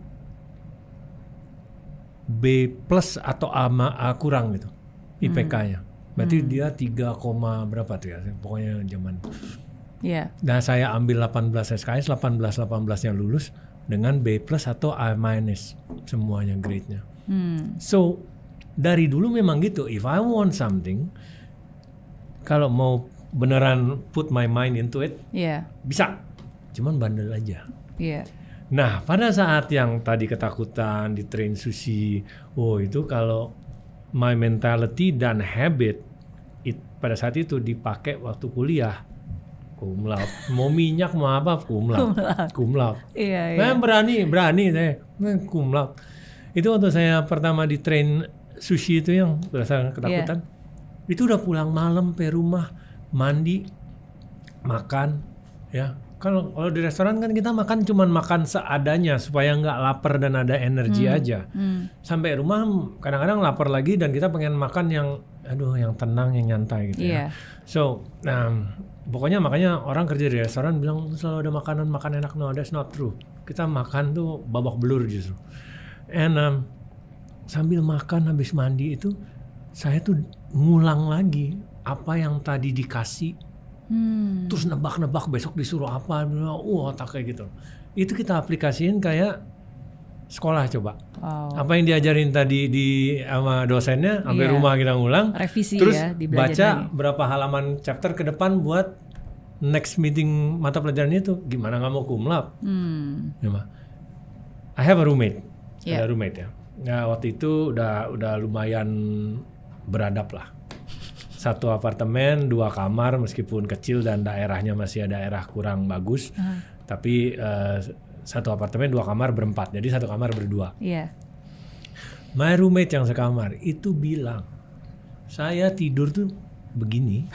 B plus atau A, A kurang gitu I P K-nya. Berarti hmm. dia tiga, berapa tuh ya? Pokoknya zaman. Yeah. Nah, saya ambil delapan belas S K S, delapan belas delapan belas-nya lulus dengan B plus atau A minus semuanya grade-nya. Hmm. So, dari dulu memang gitu. If I want something, kalau mau beneran put my mind into it, yeah. bisa. Cuman bandel aja. Yeah. Nah, pada saat yang tadi ketakutan di train sushi, oh itu kalau my mentality dan habit it, pada saat itu dipakai waktu kuliah, cum laude. Mau minyak mau apa cum laude, cum laude. Iya, Nah, iya. berani, berani saya, cum laude. Itu waktu saya pertama di train sushi itu yang berdasarkan ketakutan, yeah. itu udah pulang malam ke rumah, mandi, makan, ya. Kalau kalau di restoran kan kita makan cuman makan seadanya supaya nggak lapar dan ada energi hmm. aja. Hmm. Sampai rumah kadang-kadang lapar lagi dan kita pengen makan yang, aduh, yang tenang, yang nyantai gitu yeah. ya. So, um, pokoknya makanya orang kerja di restoran bilang selalu ada makanan makan enak. No, that's not true. Kita makan tuh babak belur justru. And um, sambil makan habis mandi itu saya tuh ngulang lagi apa yang tadi dikasih. Hmm. Terus nebak-nebak besok disuruh apa, uh, otak kayak gitu. Itu kita aplikasiin kayak sekolah coba. Oh. Apa yang diajarin tadi di sama dosennya, sampai yeah. rumah kita ngulang. Revisi terus ya, baca lagi. Berapa halaman chapter ke depan buat next meeting mata pelajaran itu. Gimana nggak mau cum laude? Hmm. I have a roommate, yeah. ada roommate ya. Nah, waktu itu udah udah lumayan beradab lah. Satu apartemen, dua kamar, meskipun kecil dan daerahnya masih daerah kurang bagus, uh-huh. tapi uh, satu apartemen dua kamar berempat, jadi satu kamar berdua. Yeah. My roommate yang sekamar itu bilang, saya tidur tuh begini,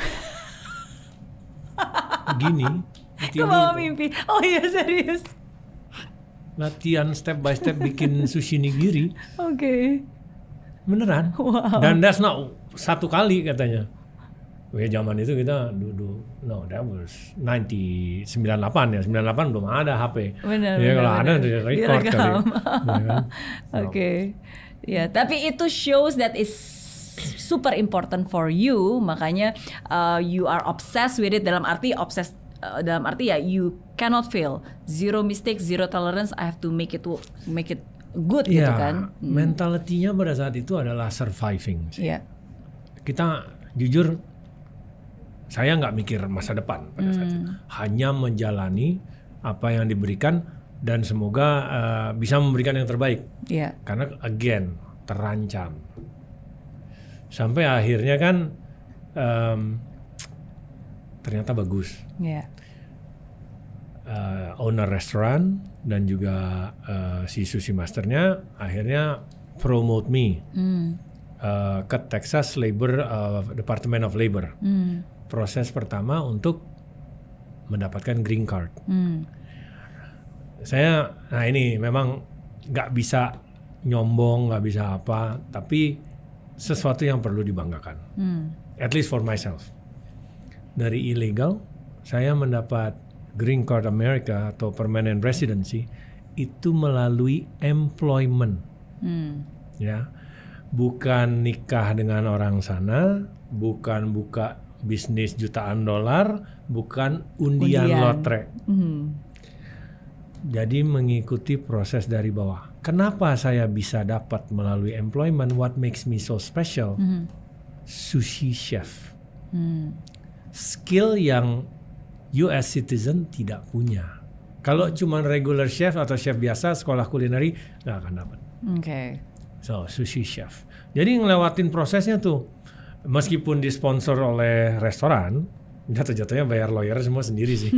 begini. Kebawa mimpi. Oh iya serius. Latihan step by step bikin sushi nigiri. Oke. Okay. Beneran. Wow. Dan that's not satu kali katanya. Wah, zaman itu kita duduk, no, that was sembilan puluh delapan ya, sembilan puluh delapan belum ada H P. Benar. Ya kalau benar. ada di record kali. Ya, kan? Oke. Okay. Ya, tapi itu shows that is super important for you, makanya uh, you are obsessed with it, dalam arti obsessed uh, dalam arti ya you cannot fail. Zero mistakes, zero tolerance, I have to make it make it good ya, gitu kan. Hmm. Mentalitinya pada saat itu adalah surviving. Iya. Kita jujur, saya nggak mikir masa depan pada saat itu. Hanya menjalani apa yang diberikan dan semoga uh, bisa memberikan yang terbaik. Yeah. Karena again terancam. Sampai akhirnya kan um, ternyata bagus. Yeah. Uh, owner restoran dan juga uh, si sushi masternya akhirnya promote me mm. uh, ke Texas Labor uh, Department of Labor. Mm. Proses pertama untuk mendapatkan green card. Hmm. Saya, nah ini memang nggak bisa nyombong, nggak bisa apa, tapi sesuatu yang perlu dibanggakan. Hmm. At least for myself. Dari illegal, saya mendapat green card America atau permanent residency itu melalui employment. Hmm. Ya, bukan nikah dengan orang sana, bukan buka bisnis jutaan dolar, bukan undian, Undian. lotre. Mhm. Jadi mengikuti proses dari bawah. Kenapa saya bisa dapat melalui employment? What makes me so special? Mhm. Sushi chef. Hmm. Skill yang U S citizen tidak punya. Kalau cuma regular chef atau chef biasa sekolah kulineri nggak akan dapat. Oke. So sushi chef. Jadi ngelewatin prosesnya tuh, meskipun disponsor oleh restoran, jatuh-jatuhnya bayar lawyer semua sendiri sih.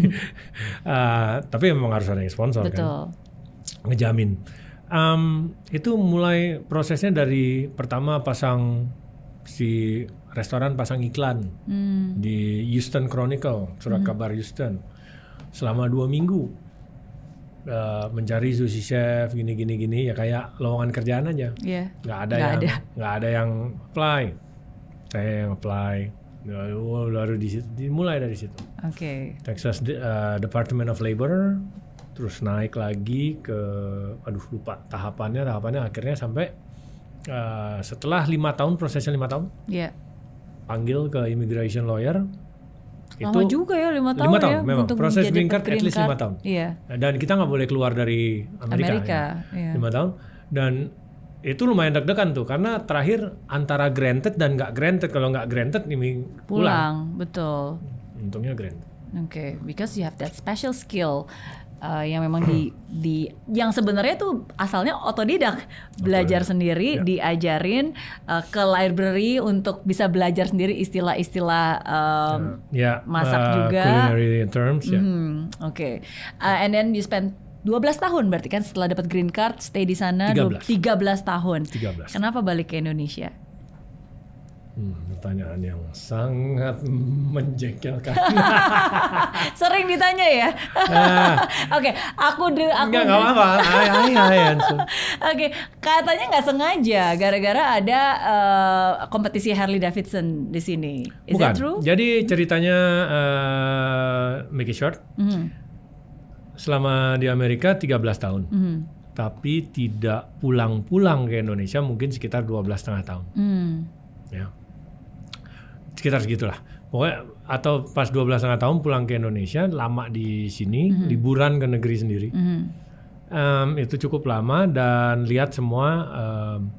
uh, tapi memang harus ada yang sponsor. Betul. Kan, ngejamin. Um, itu mulai prosesnya dari pertama pasang si restoran pasang iklan Hmm. di Houston Chronicle, surat Hmm. kabar Houston, selama dua minggu uh, mencari sushi chef gini gini gini ya kayak lowongan kerjaan aja. Iya. Nggak ada Nggak yang ada. nggak ada yang apply, saya yang apply. Ya, baru di situ, dimulai dari situ. Oke. Texas uh, Department of Labor, terus naik lagi ke, aduh lupa tahapannya, tahapannya akhirnya sampai uh, setelah lima tahun, prosesnya lima tahun, Iya. panggil ke immigration lawyer. Lama juga ya lima tahun, lima tahun ya memang untuk proses menjadi green card at least card. lima tahun. Iya. Dan kita nggak boleh keluar dari Amerika, Amerika, ya. iya. lima tahun. Dan itu lumayan deg-degan tuh karena terakhir antara granted dan nggak granted. Kalau nggak granted ini pulang. Pulang, betul. Untungnya granted. Oke, okay. Because you have that special skill uh, yang memang di di yang sebenarnya tuh asalnya otodidak, belajar sendiri, Ya. diajarin uh, ke library untuk bisa belajar sendiri istilah-istilah um, ya, masak uh, juga. culinary terms ya. Hmm, Oke, okay. uh, and then you spend dua belas tahun berarti kan setelah dapat green card, stay di sana tiga belas. tiga belas tahun. tiga belas. Kenapa balik ke Indonesia? Hmm, pertanyaan yang sangat menjengkelkan. Sering ditanya ya. Nah, Oke, aku de, aku enggak enggak apa-apa. Hai hai hai answer. Oke, katanya nggak sengaja gara-gara ada uh, kompetisi Harley Davidson di sini. Is Bukan. that true? Jadi ceritanya uh, make it short. Mhm. Selama di Amerika tiga belas tahun. Mhm. Tapi tidak pulang-pulang ke Indonesia mungkin sekitar dua belas setengah tahun. Hmm. Ya. Sekitar segitulah. Pokoknya atau pas dua belas setengah tahun pulang ke Indonesia, lama di sini, Mhm. liburan ke negeri sendiri. Mhm. Um, itu cukup lama dan lihat semua um,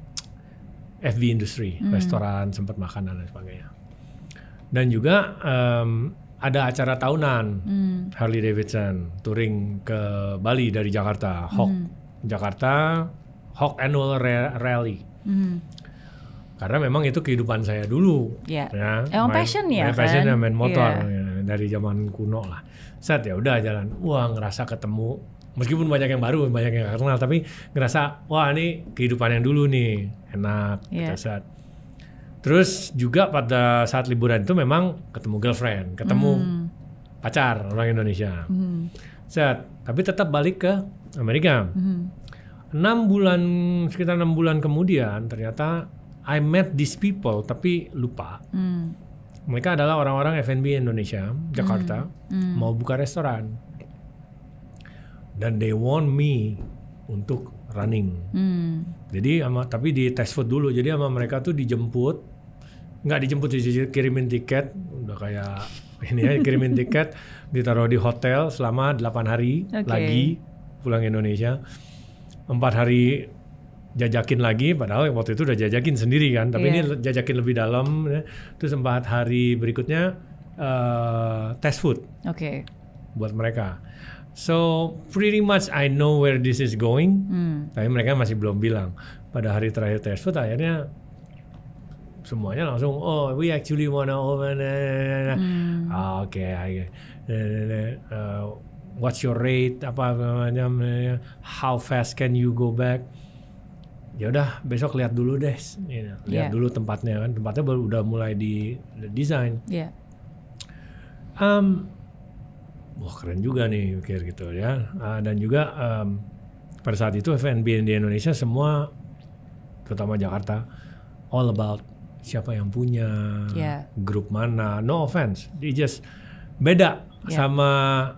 F B industry, Mhm. restoran, sempat makanan dan sebagainya. Dan juga um, ada acara tahunan Hmm. Harley Davidson touring ke Bali dari Jakarta, Hawk Mhm. Jakarta Hawk Annual Ra- Rally. Mhm. Karena memang itu kehidupan saya dulu. Ya. Ya, Emang passion ya, main passion kan? ya, main motor Iya. ya, dari zaman kuno lah. Set ya udah jalan. Wah ngerasa ketemu. Meskipun banyak yang baru, banyak yang gak kenal, tapi ngerasa wah ini kehidupan yang dulu nih enak. Iya. Gitu, set. Terus juga pada saat liburan itu memang ketemu girlfriend, ketemu Hmm. pacar orang Indonesia. Mhm. Set. Tapi tetap balik ke Amerika. Mhm. Enam bulan sekitar enam bulan kemudian ternyata I met these people tapi lupa. Hmm. Mereka adalah orang-orang F and B Indonesia, Jakarta, Hmm. mau buka restoran. Dan they want me untuk running. Hmm. Jadi sama tapi di test food dulu. Jadi sama mereka tuh dijemput, nggak dijemput, kirimin tiket, udah kayak ini ya, kirimin tiket, ditaruh di hotel selama delapan hari Oke. lagi pulang Indonesia. Empat hari jajakin lagi, padahal waktu itu udah jajakin sendiri kan, tapi Iya. ini jajakin lebih dalam. Ya. Terus empat hari berikutnya uh, test food Oke. buat mereka. So pretty much I know where this is going, Hmm. tapi mereka masih belum bilang. Pada hari terakhir test food akhirnya semuanya langsung, oh we actually wanna open. Hmm. Ah, Oke, okay, uh, what's your rate? Apa namanya? How fast can you go back? Ya udah besok lihat dulu deh, you know, lihat Yeah. dulu tempatnya kan. Tempatnya baru udah mulai di desain. Ya. Um, wah keren juga nih mikir gitu ya. Uh, dan juga um, pada saat itu F and B di Indonesia semua, terutama Jakarta, all about siapa yang punya, Yeah. grup mana. No offense, they just beda Yeah. sama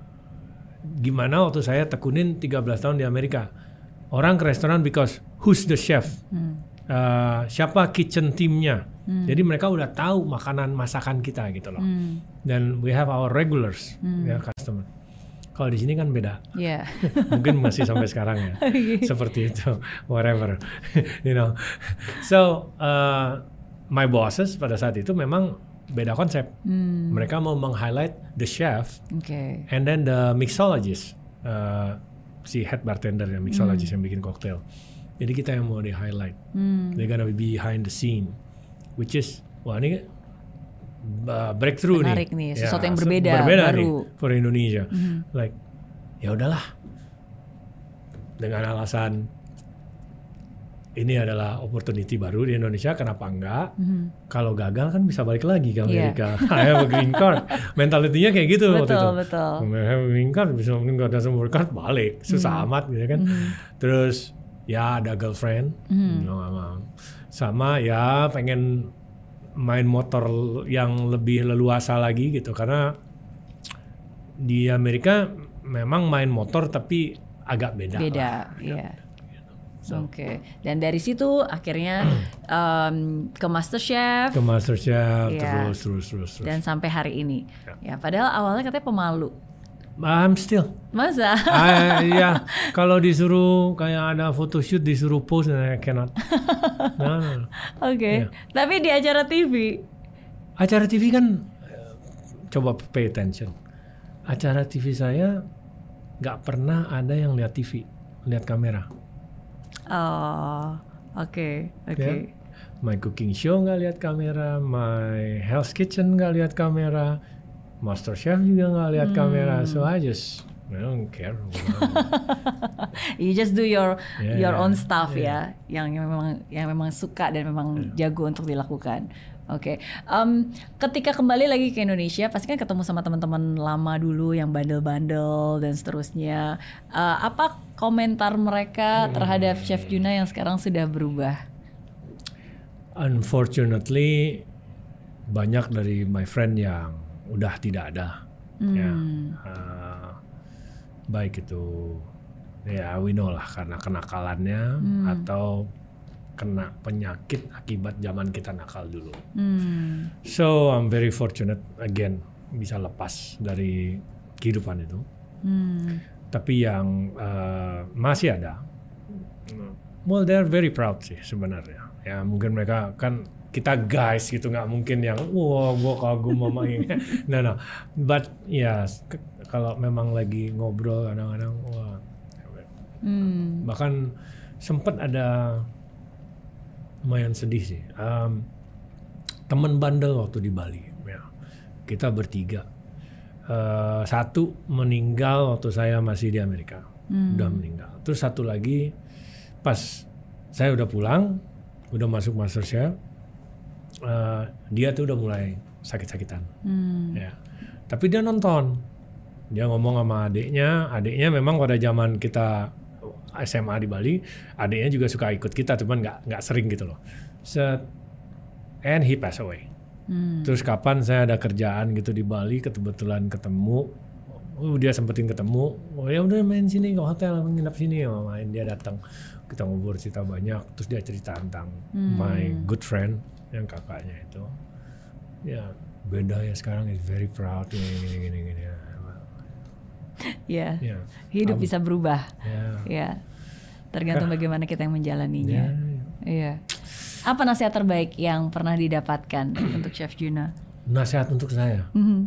gimana waktu saya tekunin tiga belas tahun di Amerika. Orang ke restoran because who's the chef, Hmm. uh, siapa kitchen teamnya, Hmm. Jadi mereka udah tahu makanan masakan kita gitu loh. Hmm. Dan we have our regulars, hmm. ya customer. Kalau di sini kan beda. Yeah. Mungkin masih sampai sekarang ya. Seperti itu, whatever. You know. So uh, my bosses pada saat itu memang beda konsep. Hmm. Mereka mau meng-highlight the chef, okay. and then the mixologist, uh, si head bartender yang mixologist hmm. yang bikin koktail. Jadi kita yang mau di-highlight. Hmm. They're gonna be behind the scene, which is, wah ini uh, breakthrough menarik nih. nih, sesuatu ya, yang berbeda, berbeda baru. nih for Indonesia. Hmm. Like, ya udahlah, dengan alasan ini adalah opportunity baru di Indonesia, kenapa enggak? Mm-hmm. Kalau gagal kan bisa balik lagi ke Amerika. Yeah. I have a green card. Mentalitinya kayak gitu betul, waktu itu. Betul. I have a green card, bisa nggak ada sumber card, balik. Susah mm-hmm. amat gitu kan. Mm-hmm. Terus ya ada girlfriend, mm-hmm. no, sama ya pengen main motor yang lebih leluasa lagi gitu. Karena di Amerika memang main motor tapi agak beda. Beda, iya. Yeah. So. Oke, okay. Dan dari situ akhirnya um, ke MasterChef, ke MasterChef ya. terus, terus, terus, terus. Dan sampai hari ini, ya. ya padahal awalnya katanya pemalu. I'm still. Masa? uh, ya, kalau disuruh kayak ada photoshoot disuruh pose, I cannot. No, no, no. Oke, okay. yeah. Tapi di acara T V. Acara T V kan, coba pay attention. Acara T V saya nggak pernah ada yang lihat T V, lihat kamera. Oh, oke, okay, oke. Okay. Yeah. My cooking show nggak lihat kamera, my Hell's Kitchen nggak lihat kamera, MasterChef juga nggak lihat hmm. kamera, so I just I don't care. You just do your yeah, your own yeah, stuff yeah. ya, yang memang yang memang suka dan memang yeah. jago untuk dilakukan. Oke, okay. um, ketika kembali lagi ke Indonesia, pasti kan ketemu sama teman-teman lama dulu yang bandel-bandel dan seterusnya. Uh, apa komentar mereka terhadap hmm. Chef Juna yang sekarang sudah berubah? Unfortunately, banyak dari my friend yang udah tidak ada. Hmm. Ya, uh, baik itu, ya we know lah karena kenakalannya hmm. atau kena penyakit akibat zaman kita nakal dulu. Hmm. So I'm very fortunate again bisa lepas dari kehidupan itu. Hmm. Tapi yang uh, masih ada, well they're very proud sih sebenarnya. Ya mungkin mereka kan kita guys gitu, nggak mungkin yang wah gua kagum mama ini. No no. But ya yeah, kalau memang lagi ngobrol kadang-kadang wah. Hmm. Bahkan sempat ada lumayan sedih sih. Um, teman bandel waktu di Bali, ya. Kita bertiga. Uh, satu meninggal waktu saya masih di Amerika, hmm. udah meninggal. Terus satu lagi pas saya udah pulang, udah masuk MasterChef, uh, dia tuh udah mulai sakit-sakitan. Hmm. Ya. Tapi dia nonton, dia ngomong sama adiknya. Adiknya memang pada zaman kita S M A di Bali, adiknya juga suka ikut kita, cuman nggak nggak sering gitu loh. Set, and he passed away. Hmm. Terus kapan saya ada kerjaan gitu di Bali, kebetulan ketemu, oh, dia sempetin ketemu, oh ya udah main sini ke hotel, nginap sini, oh, main dia datang, kita ngobrol cerita banyak, terus dia cerita tentang hmm. my good friend yang kakaknya itu, ya beda ya sekarang, is very proud gini gini gini gini. Ya, yeah. hidup um, bisa berubah. Ya, yeah. yeah. Tergantung bagaimana kita yang menjalaninya. Iya. Yeah. Yeah. Apa nasihat terbaik yang pernah didapatkan untuk Chef Juna? Nasihat untuk saya. Mm-hmm.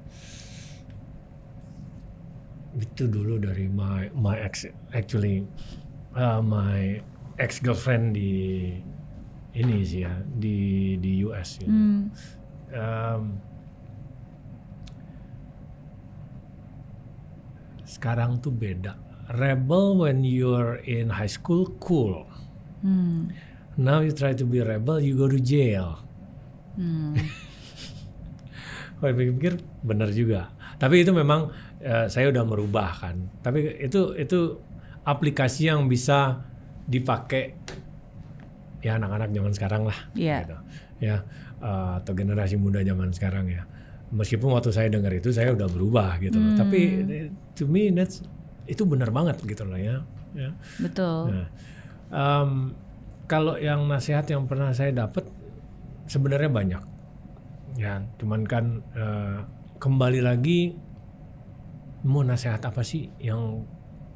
Itu dulu dari my my ex, actually uh, my ex girlfriend di ini sih ya, di di U S. Gitu. Mm. Um, Sekarang tuh beda. Rebel when you're in high school, cool. Hmm. Now you try to be rebel, you go to jail. Hmm. Kalau pikir-pikir benar juga. Tapi itu memang uh, saya udah merubah kan. Tapi itu itu aplikasi yang bisa dipakai ya anak-anak zaman sekarang lah. Yeah. Gitu. Ya uh, atau generasi muda zaman sekarang ya. Meskipun waktu saya dengar itu saya udah berubah gitu loh. Hmm. Tapi to me that's itu benar banget gitu loh ya. ya. Betul. Nah, um, kalau yang nasihat yang pernah saya dapat sebenarnya banyak. Ya, cuman kan uh, kembali lagi mau nasihat apa sih yang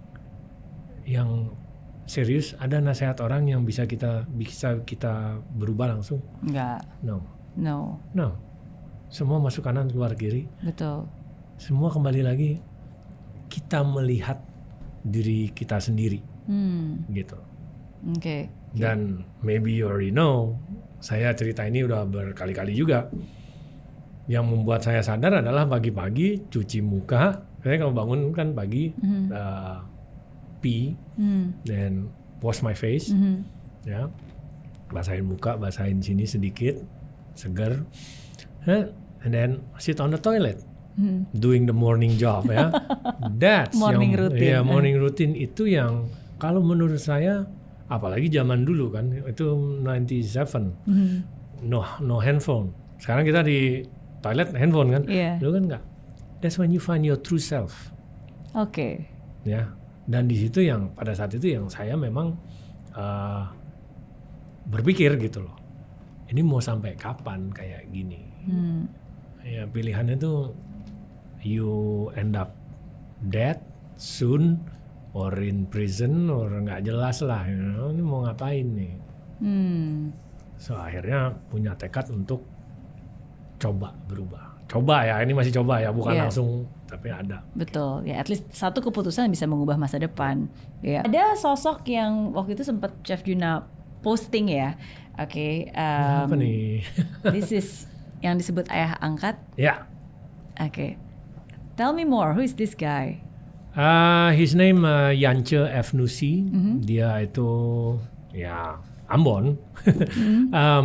yang serius? Ada nasihat orang yang bisa kita bisa kita berubah langsung? Enggak. No. No. No. Semua masuk kanan keluar kiri. Betul. Semua kembali lagi kita melihat diri kita sendiri. Hmm. Gitu. Oke. Okay. Dan maybe you already know, saya cerita ini udah berkali-kali juga. Yang membuat saya sadar adalah pagi-pagi cuci muka. Saya kalau bangun kan pagi, mm-hmm. uh, pee, mm. then wash my face, mm-hmm. ya, basahin muka, basahin sini sedikit, segar, huh? And then sit on the toilet, mm. doing the morning job, ya. That's morning yang, routine. ya morning routine itu yang kalau menurut saya, apalagi zaman dulu kan, itu sembilan puluh tujuh, mm-hmm. no no handphone. Sekarang kita di toilet handphone kan, yeah. Dulu kan enggak. That's when you find your true self. Oke. Okay. Ya, dan di situ yang pada saat itu yang saya memang uh, berpikir gitu loh. Ini mau sampai kapan kayak gini? Hmm. Ya pilihannya tuh you end up dead soon or in prison or nggak jelas lah. You know, ini mau ngapain nih? Hmm. So akhirnya punya tekad untuk coba berubah. Coba ya, ini masih coba ya, bukan yeah. langsung, tapi ada. Betul, ya at least satu keputusan bisa mengubah masa depan. Ya. Ada sosok yang waktu itu sempat Chef Juna posting ya, oke. Okay, um, apa nih? This is yang disebut ayah angkat. Ya. Yeah. Oke, okay. Tell me more, who is this guy? Uh, his name uh, Yance Efnusi, mm-hmm. Dia itu ya Ambon. mm-hmm. um,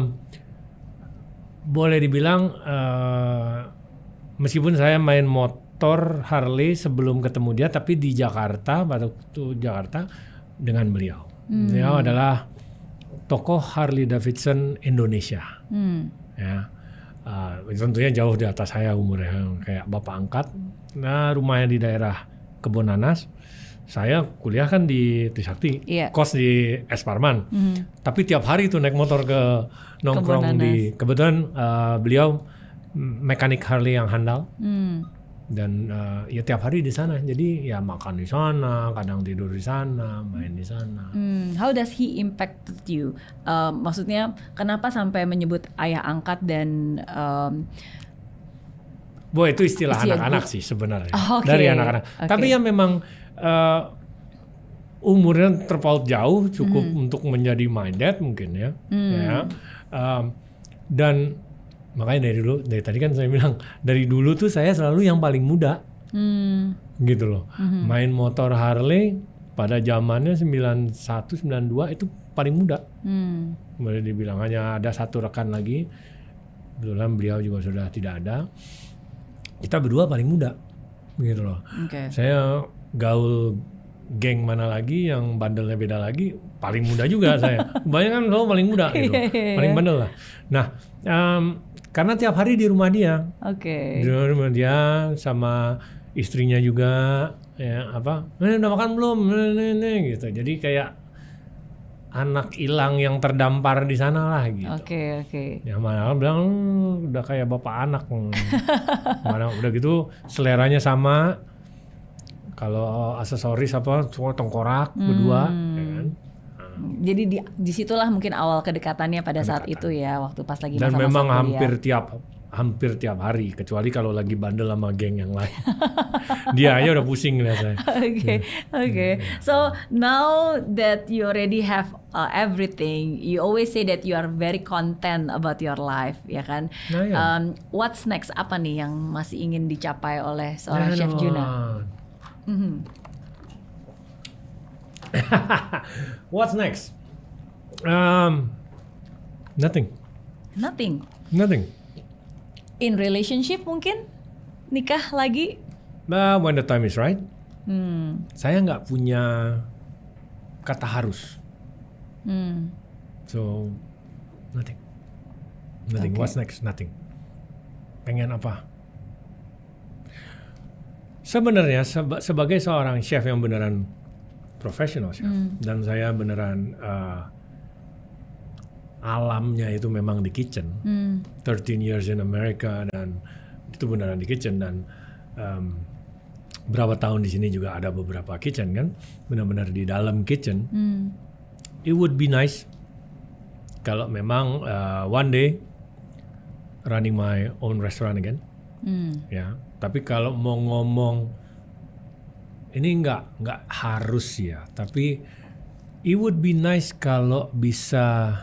Boleh dibilang uh, meskipun saya main motor Harley sebelum ketemu dia, tapi di Jakarta pada waktu Jakarta dengan beliau. Hmm. Beliau adalah tokoh Harley Davidson Indonesia. Hmm. Ya, uh, tentunya jauh di atas saya umurnya, kayak bapak angkat. Nah, rumahnya di daerah Kebonanas. Saya kuliah kan di Trisakti, yeah. Kos di Es Parman. Mm. Tapi tiap hari tuh naik motor ke nongkrong di, kebetulan uh, beliau mekanik Harley yang handal. Mm. Dan uh, ya tiap hari di sana. Jadi ya makan di sana, kadang tidur di sana, main di sana. Mm. How does he impacted you? Uh, maksudnya kenapa sampai menyebut ayah angkat dan um, Boy, itu istilah anak-anak sih sebenarnya. Oh, okay. Dari anak-anak. Okay. Tapi ya memang Uh, umurnya terpaut jauh, cukup mm. untuk menjadi my dad mungkin ya, mm. ya. Um, dan makanya dari dulu, dari tadi kan saya bilang dari dulu tuh saya selalu yang paling muda, mm. gitu loh. Mm-hmm. Main motor Harley pada zamannya sembilan puluh satu sembilan puluh dua itu paling muda. Mm. Boleh dibilang hanya ada satu rekan lagi, kebetulan beliau juga sudah tidak ada. Kita berdua paling muda, gitu loh. Okay. Saya gaul geng mana lagi yang bandelnya beda lagi, paling muda juga saya. Kebanyakan selalu paling muda gitu, paling bandel lah. Nah, um, karena tiap hari di rumah dia, okay. di rumah dia sama istrinya juga, ya apa, eh, udah makan belum, nih, nih, gitu. Jadi kayak anak hilang yang terdampar di sana lah gitu. Oke okay, oke. Okay. Yang mana bilang udah kayak bapak anak, mana udah gitu seleranya sama. Kalau aksesoris apa, semua tengkorak hmm. berdua, ya kan? Nah. Jadi di disitulah mungkin awal kedekatannya pada Kedekatan. saat itu ya, waktu pas lagi dan masa-masa memang kuliah. hampir tiap hampir tiap hari, kecuali kalau lagi bandel sama geng yang lain. Dia aja udah pusing lihat saya. Oke oke. So now that you already have uh, everything, you always say that you are very content about your life, ya kan? Nah, ya. Um, what's next? Apa nih yang masih ingin dicapai oleh seorang nah, Chef Juna? Mm-hmm. What's next? Um, nothing. Nothing. Nothing. In relationship mungkin nikah lagi? Nah, when the time is right. Hmm. Saya nggak punya kata harus. Hmm. So nothing. Nothing. Okay. What's next? Nothing. Pengen apa? Sebenarnya seba- sebagai seorang chef yang beneran profesional chef, mm. dan saya beneran uh, alamnya itu memang di kitchen. Hmm. thirteen years in America dan itu beneran di kitchen dan um, berapa tahun di sini juga ada beberapa kitchen kan, benar-benar di dalam kitchen. Hmm. It would be nice kalau memang uh, one day running my own restaurant again. Hmm. Ya, tapi kalau mau ngomong ini nggak nggak harus ya, tapi it would be nice kalau bisa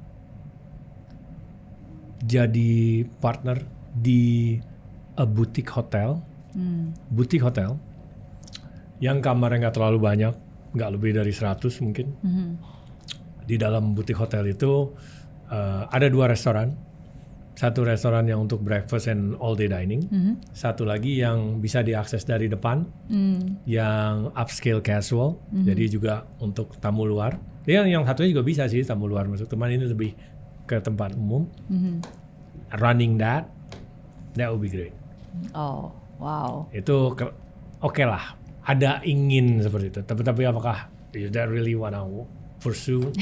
jadi partner di a boutique hotel, hmm. boutique hotel yang kamarnya nggak terlalu banyak, nggak lebih dari seratus mungkin. Hmm. Di dalam boutique hotel itu uh, ada dua restoran, satu restoran yang untuk breakfast and all day dining, hmm. satu lagi yang bisa diakses dari depan, hmm. yang upscale casual, hmm. jadi juga untuk tamu luar. Yang yang satunya juga bisa sih tamu luar masuk, teman ini lebih ke tempat umum. Mm-hmm. Running that, that would be great. Oh, wow. Itu oke okay lah. Ada ingin seperti itu. Tapi tapi apakah is that really what I pursue?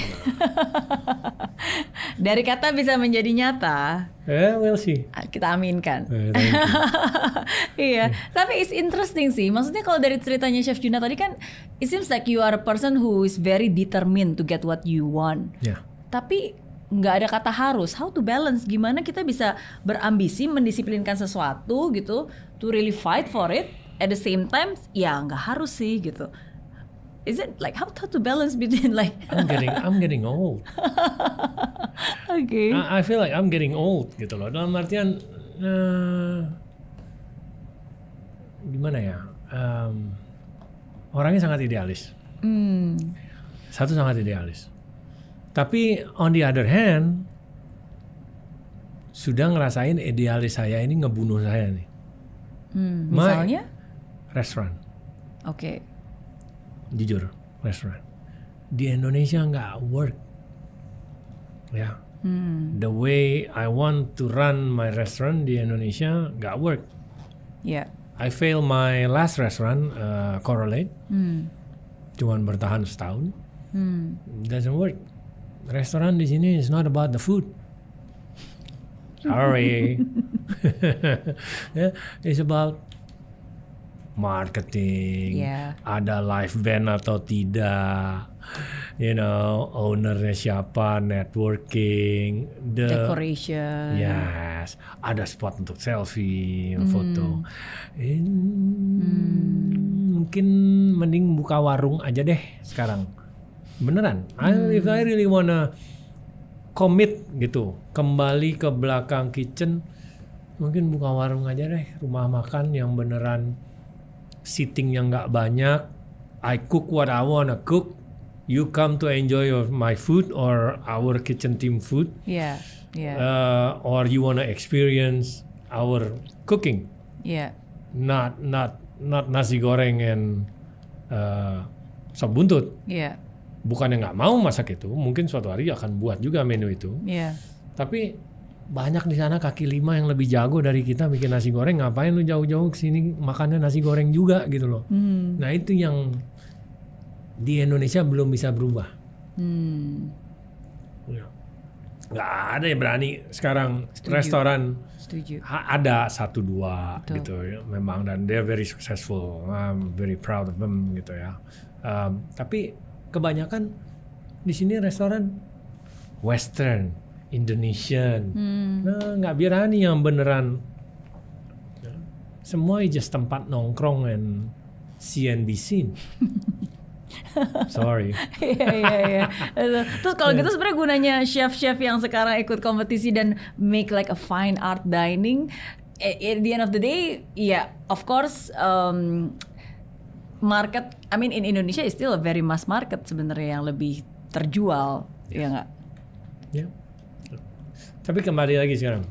Dari kata bisa menjadi nyata. Eh, we'll see. Kita aminkan. Eh, iya, tapi it's interesting sih. Maksudnya kalau dari ceritanya Chef Juna tadi kan, it seems like you are a person who is very determined to get what you want. Yeah. Tapi nggak ada kata harus. How to balance? Gimana kita bisa berambisi mendisiplinkan sesuatu gitu, to really fight for it. At the same time, ya nggak harus sih gitu. Is it like how to balance between like? I'm getting I'm getting old. Okay. I, I feel like I'm getting old gitu loh. Dalam artian uh, gimana ya? Um, orangnya sangat idealis. Hmm. Satu sangat idealis. Tapi on the other hand, sudah ngerasain idealis saya ini ngebunuh saya nih. Hmm, misalnya? My restoran. Oke. Okay. Jujur, restoran. Di Indonesia nggak work. Ya. Hmm. The way I want to run my restaurant di Indonesia nggak work. Yeah. I fail my last restaurant, uh, Correlate. Hmm. Cuman bertahan setahun. Hmm. Doesn't work. Restoran di sini is not about the food. Sorry. Yeah, it's about marketing. Yeah. Ada live band atau tidak. You know, ownernya siapa, networking, the decoration. Yes, ada spot untuk selfie, mm. foto. In, mm. Mungkin mending buka warung aja deh sekarang. Beneran. Mm. If I really wanna commit gitu, kembali ke belakang kitchen, mungkin buka warung aja deh, rumah makan yang beneran seating yang nggak banyak. I cook what I wanna cook. You come to enjoy your, my food or our kitchen team food. Yeah, yeah. Uh, or you wanna experience our cooking. Yeah. Not not not nasi goreng and uh, sop buntut. Yeah. Bukannya nggak mau masak itu, mungkin suatu hari akan buat juga menu itu. Yeah. Tapi banyak di sana kaki lima yang lebih jago dari kita bikin nasi goreng. Ngapain lu jauh-jauh kesini makannya nasi goreng juga gitu loh. Hmm. Nah itu yang di Indonesia belum bisa berubah. Hmm. Ya. Nggak ada yang berani sekarang. Setuju. Restoran Setuju. Ha, ada satu dua. Betul. Gitu ya, memang, dan they're very successful. I'm very proud of them gitu ya. Um, tapi kebanyakan di sini restoran Western, Indonesian, hmm. nah, nggak berani yang beneran. Semua just tempat nongkrong and see and be seen. Sorry. Iya iya iya. Terus kalau gitu sebenarnya gunanya chef-chef yang sekarang ikut kompetisi dan make like a fine art dining, at the end of the day, ya yeah, of course um, market, I mean in Indonesia is still a very mass market sebenarnya yang lebih terjual, ya nggak? Ya. Tapi kembali lagi sekarang,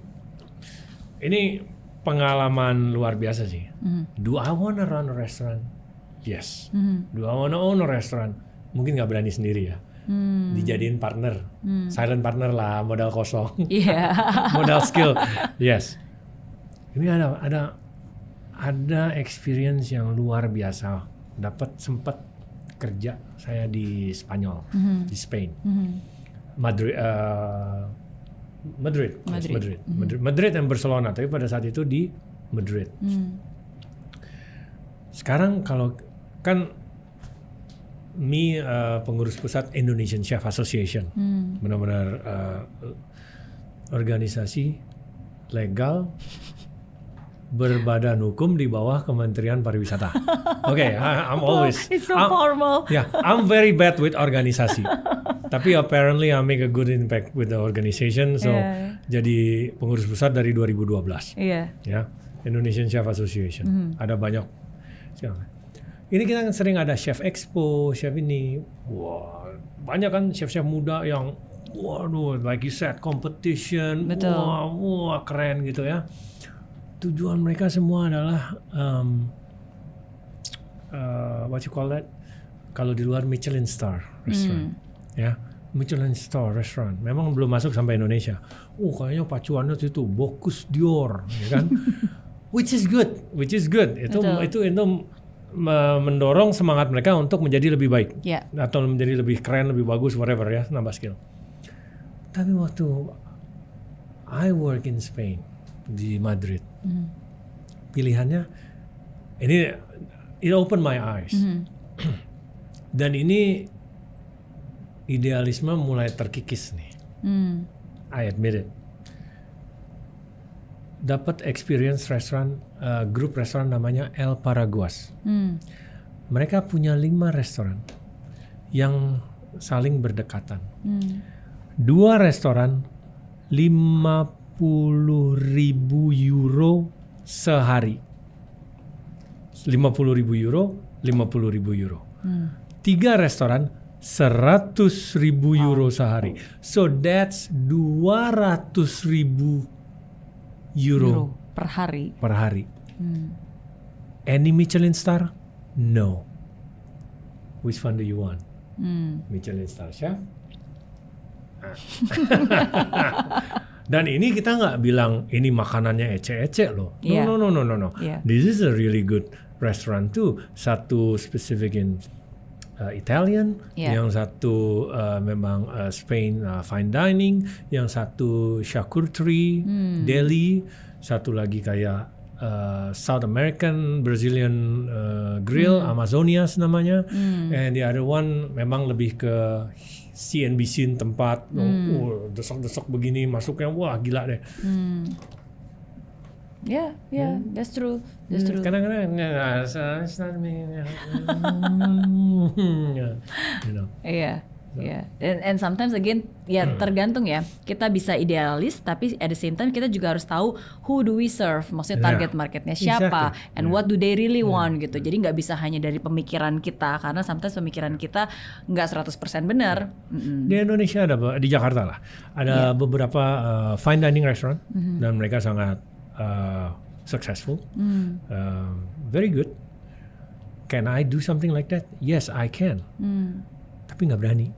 ini pengalaman luar biasa sih. Mm-hmm. Do I wanna run a restaurant? Yes. Mm-hmm. Do I wanna own a restaurant? Mungkin nggak berani sendiri ya. Mm. Dijadiin partner, mm. silent partner lah, modal kosong, yeah. modal skill. Yes. Ini ada ada ada experience yang luar biasa. Dapat sempat kerja saya di Spanyol, mm-hmm. di Spain. Mm-hmm. Madrid, uh, Madrid, Madrid. Yes, Madrid. Mm-hmm. Madrid, Madrid dan Barcelona. Tapi pada saat itu di Madrid. Mm. Sekarang kalau kan Mi uh, pengurus pusat Indonesian Chef Association, mm. benar-benar uh, organisasi legal berbadan hukum di bawah Kementerian Pariwisata. Oke, okay, I'm always. It's so I'm, formal. Yeah, I'm very bad with organisasi. Tapi apparently I make a good impact with the organization. So Yeah. jadi pengurus pusat dari dua ribu dua belas. Iya. Ya, Indonesian Chef Association. Mm-hmm. Ada banyak. Ini kita kan sering ada chef expo, chef ini. Wah, banyak kan chef-chef muda yang, waduh, like you said, competition. Betul. Wah, wah, keren gitu ya. Tujuan mereka semua adalah um, uh, what you call that? Kalau di luar Michelin star restaurant, mm. ya, Michelin star restaurant. Memang belum masuk sampai Indonesia. Oh, kayaknya pacuannya itu Bocuse d'Or, ya kan? Which is good, which is good. Itu Betul. itu itu mendorong semangat mereka untuk menjadi lebih baik, yeah. atau menjadi lebih keren, lebih bagus, whatever ya, nambah skill. Tapi waktu I work in Spain di Madrid, mm. pilihannya ini it opened my eyes, mm. dan ini idealisme mulai terkikis nih. Mm. I admit it. Dapat experience restoran, uh, grup restoran namanya El Paraguas. Hmm. Mereka punya lima restoran yang saling berdekatan. Hmm. Dua restoran lima puluh ribu euro sehari. lima puluh ribu euro, lima puluh ribu euro. Hmm. Tiga restoran seratus ribu euro sehari. So that's dua ratus ribu Euro, Euro per hari. Per hari. Hmm. Any Michelin star? No. Which one do you want? Hmm. Michelin star chef? Dan ini kita nggak bilang ini makanannya ece-ece loh. No, yeah. no, no, no, no, no. Yeah. This is a really good restaurant too. Satu specific in Uh, Italian, yeah. yang satu uh, memang uh, Spain uh, fine dining, yang satu charcuterie, hmm. deli, satu lagi kayak uh, South American, Brazilian uh, grill, hmm. Amazonias namanya, hmm. and the other one memang lebih ke C N B C tempat, hmm. oh, desok-desok begini masuknya, wah gila deh. Hmm. Yeah, yeah, hmm. that's true. That's true. Kadang-kadang nggak, it's not me. You know. Iya, iya. And, and sometimes again, ya tergantung ya. Kita bisa idealis, tapi at the same time kita juga harus tahu who do we serve. Maksudnya target marketnya siapa, exactly. and yeah. what do they really want yeah. gitu. Jadi nggak bisa hanya dari pemikiran kita, karena sometimes pemikiran kita nggak seratus persen benar. Mm-hmm. Di Indonesia ada, di Jakarta lah, ada yeah. beberapa uh, fine dining restaurant, mm-hmm. dan mereka sangat Uh, successful, mm. uh, very good. Can I do something like that? Yes, I can. Mm. Tapi nggak berani.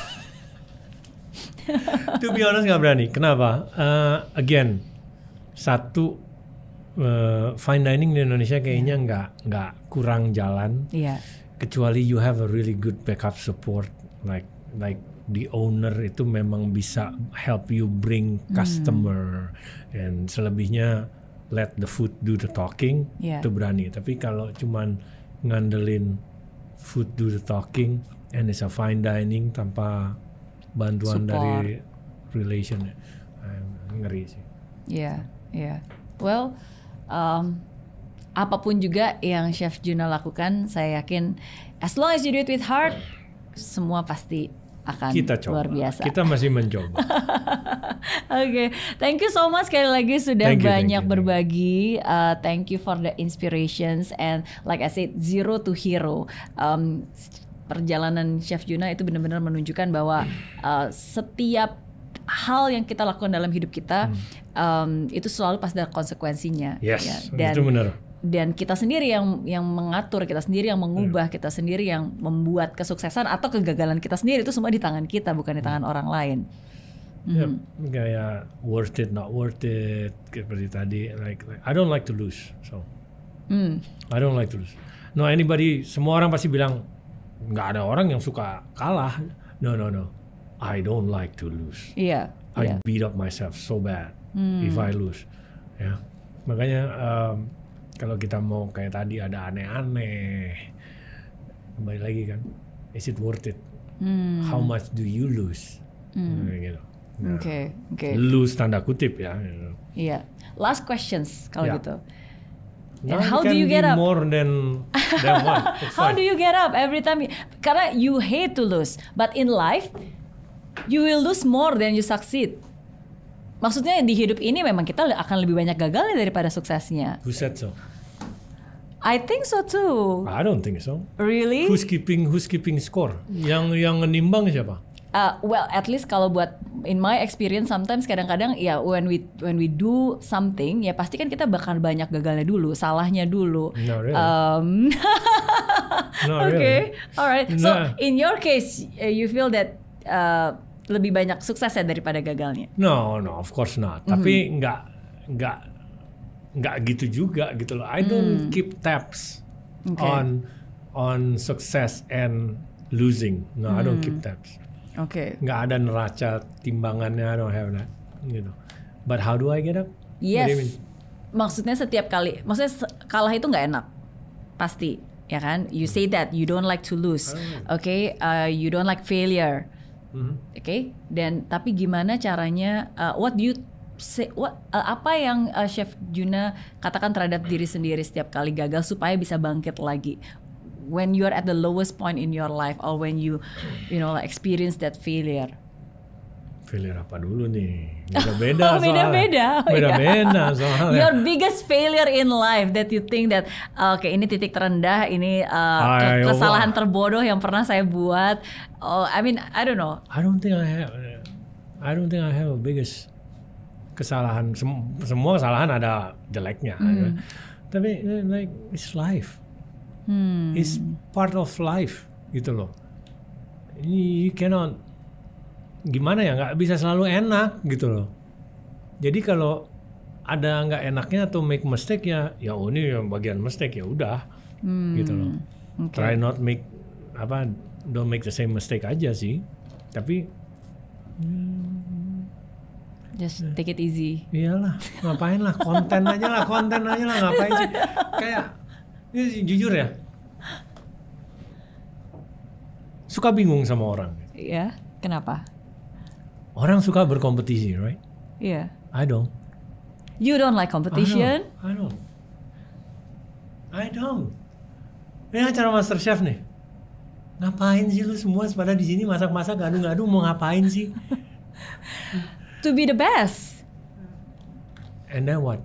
To be honest nggak berani. Kenapa? Uh, again, satu uh, fine dining di Indonesia kayaknya nggak yeah. nggak kurang jalan. Yeah. Kecuali you have a really good backup support, like like the owner itu memang bisa help you bring customer, hmm. and selebihnya let the food do the talking, yeah. itu berani. Tapi kalau cuman ngandelin food do the talking and it's a fine dining tanpa bantuan support dari relation, ngeri sih. Iya, yeah, iya. Yeah. Well, um, apapun juga yang Chef Juna lakukan, saya yakin as long as you do it with heart, semua pasti akan kita coba. Luar biasa. Kita masih mencoba. Oke, okay. Thank you so much sekali lagi sudah thank you, banyak thank you, berbagi. Uh, thank you for the inspirations and like I said, zero to hero. Um, perjalanan Chef Juna itu benar-benar menunjukkan bahwa uh, setiap hal yang kita lakukan dalam hidup kita hmm. um, itu selalu pasti ada konsekuensinya. Yes, ya. Dan, itu benar. Dan kita sendiri yang yang mengatur, kita sendiri yang mengubah, hmm. kita sendiri yang membuat kesuksesan atau kegagalan kita sendiri, itu semua di tangan kita, bukan di tangan hmm. orang lain. Ya, hmm. kayak worth it, not worth it, seperti tadi. Like, like I don't like to lose, so hmm. I don't like to lose. No anybody, semua orang pasti bilang nggak ada orang yang suka kalah. No no no. I don't like to lose. Iya. I Yeah. beat up myself so bad hmm. if I lose. Ya, makanya um, kalau kita mau kayak tadi ada aneh-aneh, kembali lagi kan, is it worth it? Hmm. How much do you lose? Hmm. Nah, gitu. Oke, nah, oke. Okay, okay. Lose tanda kutip ya. Gitu. Iya. Last questions kalau yeah. gitu. And no, how do you get up? More than, than one. How do you get up every time? You, karena you hate to lose, but in life you will lose more than you succeed. Maksudnya di hidup ini memang kita akan lebih banyak gagalnya daripada suksesnya. Who said so? I think so too. I don't think so. Really? Who's keeping Who's keeping score? Yang yang menimbang siapa? Uh, well, at least kalau buat in my experience sometimes kadang-kadang ya when we when we do something ya pasti kan kita bakal banyak gagalnya dulu, salahnya dulu. Not really. Um, Not okay, really. alright. So Nah. in your case, uh, you feel that uh, lebih banyak suksesnya daripada gagalnya? No, no, of course not. Mm-hmm. Tapi nggak nggak nggak gitu juga gitu loh. I don't mm. keep tabs okay. on on success and losing. No, mm. I don't keep tabs. Oke. Okay. Nggak ada neraca timbangannya, I don't have that. Gitu. But how do I get up? Yes. Maksudnya setiap kali, maksudnya kalah itu nggak enak, pasti, ya kan? You say that you don't like to lose, oke? Okay? Uh, you don't like failure, mm-hmm. oke? Okay? Dan tapi gimana caranya? Uh, what do you say? What? Uh, apa yang uh, Chef Juna katakan terhadap diri sendiri setiap kali gagal supaya bisa bangkit lagi? When you're at the lowest point in your life, or when you, you know, like experience that failure. Failure apa dulu nih? Beda-beda oh, beda-beda. soalnya. Beda-beda soalnya. Your biggest failure in life that you think that oke okay, ini titik terendah, ini uh, Ay, kesalahan oh, terbodoh yang pernah saya buat. Oh, I mean, I don't know. I don't think I have. I don't think I have a biggest kesalahan. Sem- semua kesalahan ada jeleknya. Mm. Tapi like it's life. Hmm. It's part of life gitu loh. You cannot, gimana ya, nggak bisa selalu enak gitu loh. Jadi kalau ada nggak enaknya atau make mistake ya, ya oh ini yang bagian mistake ya udah hmm. gitu loh. Okay. Try not make apa, don't make the same mistake aja sih. Tapi just take it easy. Iyalah, ngapain lah, konten aja lah, konten aja lah, ngapain sih? Kayak ini jujur ya, suka bingung sama orang. Iya, kenapa? Orang suka berkompetisi, right? Iya. I don't. You don't like competition? I don't. I don't. I don't. Ini acara MasterChef nih. Ngapain sih lu semua pada di sini masak-masak, ngadu-ngadu, mau ngapain sih? To be the best. And then what?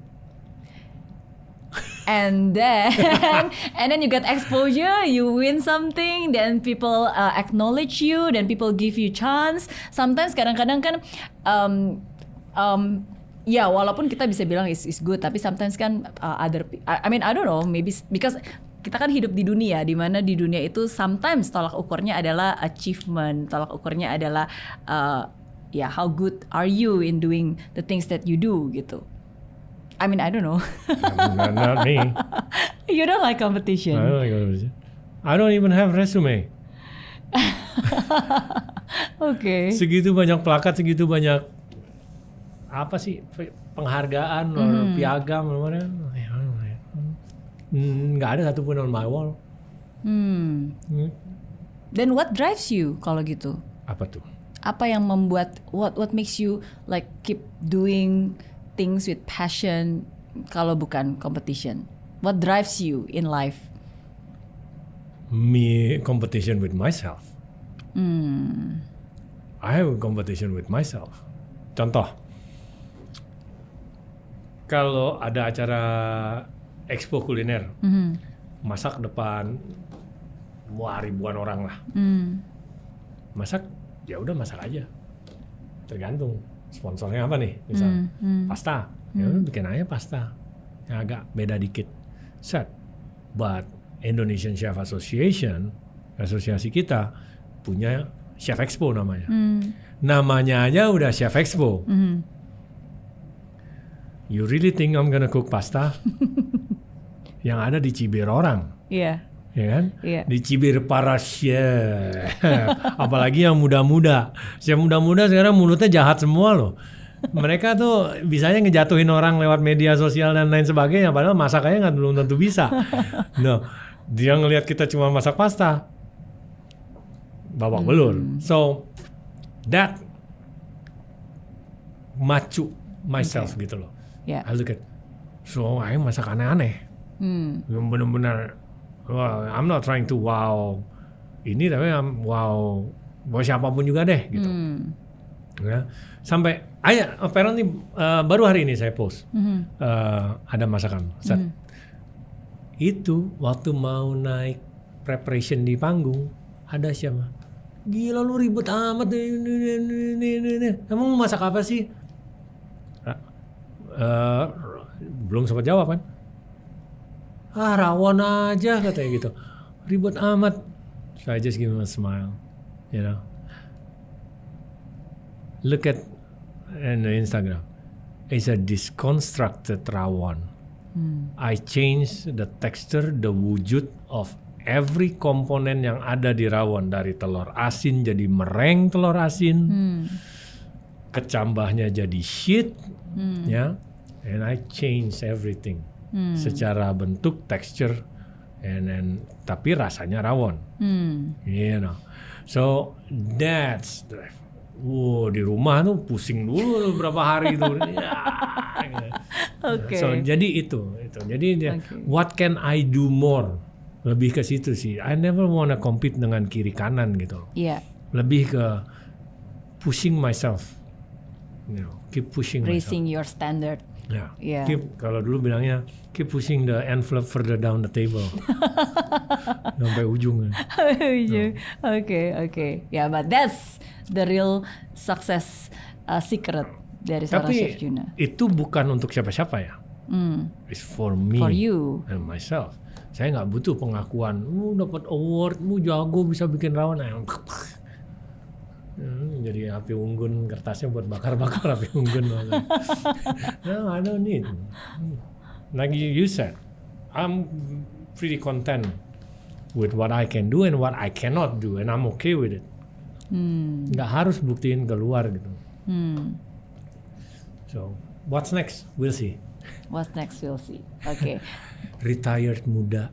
And then, and then you get exposure, you win something, then people uh, acknowledge you, then people give you chance. Sometimes kadang-kadang kan, um, um, ya walaupun kita bisa bilang is is good, tapi sometimes kan uh, other, I, I mean I don't know, maybe because kita kan hidup di dunia, di mana di dunia itu sometimes tolak ukurnya adalah achievement, tolak ukurnya adalah uh, ya how good are you in doing the things that you do gitu. I mean, I don't know. not, not me. You don't like competition. I don't like competition. I don't even have resume. Oke. Okay. Segitu banyak plakat, segitu banyak apa sih penghargaan, mm. piagam, mana? Nggak ada satupun on my wall. Hmm. Hmm. Then what drives you kalau gitu? Apa tuh? Apa yang membuat what what makes you like keep doing things with passion kalau bukan competition? What drives you in life? Me competition with myself. Hmm. I have a competition with myself. Contoh, kalau ada acara expo kuliner, mm-hmm. masak depan wah ribuan orang lah. Mm. Masak, ya udah masak aja. Tergantung sponsornya apa nih, misal mm, mm. pasta, mm. ya udah bikin aja pasta yang agak beda dikit, set. But Indonesian Chef Association, asosiasi kita punya Chef Expo namanya. Mm. Namanya aja udah Chef Expo. Mm. You really think I'm gonna cook pasta? Yang ada di cibir orang. Iya. Yeah. ya kan? Yeah. Dicibir para chef, apalagi yang muda-muda. Chef muda-muda sekarang mulutnya jahat semua loh. Mereka tuh bisanya ngejatuhin orang lewat media sosial dan lain sebagainya, padahal masakannya nggak belum tentu bisa. No, dia ngelihat kita cuma masak pasta, babak hmm. belur. So that macu myself okay. gitu loh. Yeah. I look at, so I masak aneh-aneh. Hmm. Yang benar-benar, well, I'm not trying to wow ini, tapi I'm wow buat siapapun juga deh gitu. Hmm. Ya. Sampai, ayah, apparently uh, baru hari ini saya post hmm. uh, ada masakan. Hmm. Itu waktu mau naik preparation di panggung, ada siapa? Gila lu ribet amat, emang mau masak apa sih? Uh, belum sempat jawab kan? Ah rawon aja katanya gitu, ribet amat. So I just give him a smile, you know. Look at in the Instagram, it's a disconstructed rawon. Hmm. I change the texture, the wujud of every komponen yang ada di rawon, dari telur asin jadi mereng telur asin, hmm. kecambahnya jadi shit, hmm. ya. And I change everything hmm. secara bentuk, texture, and then tapi rasanya rawon, hmm. you know. So that's the, wow, di rumah tuh pusing dulu berapa hari itu. Ya, gitu. Okay. So jadi itu, itu. Jadi dia, okay. what can I do more? Lebih ke situ sih. I never wanna compete dengan kiri kanan gitu. Yeah. Lebih ke pushing myself, you know, keep pushing raising myself. Your standard. Ya, yeah. keep, kalau dulu bilangnya keep pushing the envelope further down the table sampai ujung. Oke, oke, ya, but that's the real success uh, secret dari seorang Tapi Chef Juna. Itu bukan untuk siapa-siapa ya, mm. it's for me, for you and myself. Saya nggak butuh pengakuan, mu dapat award, mu jago bisa bikin rawon. Hmm, jadi api unggun, kertasnya buat bakar-bakar api unggun. No, I don't need. Like you said, I'm pretty content with what I can do and what I cannot do, and I'm okay with it. Hmm. Nggak harus buktiin keluar gitu. Hmm. So, what's next? We'll see. What's next? We'll see. Oke. Okay. Retired muda.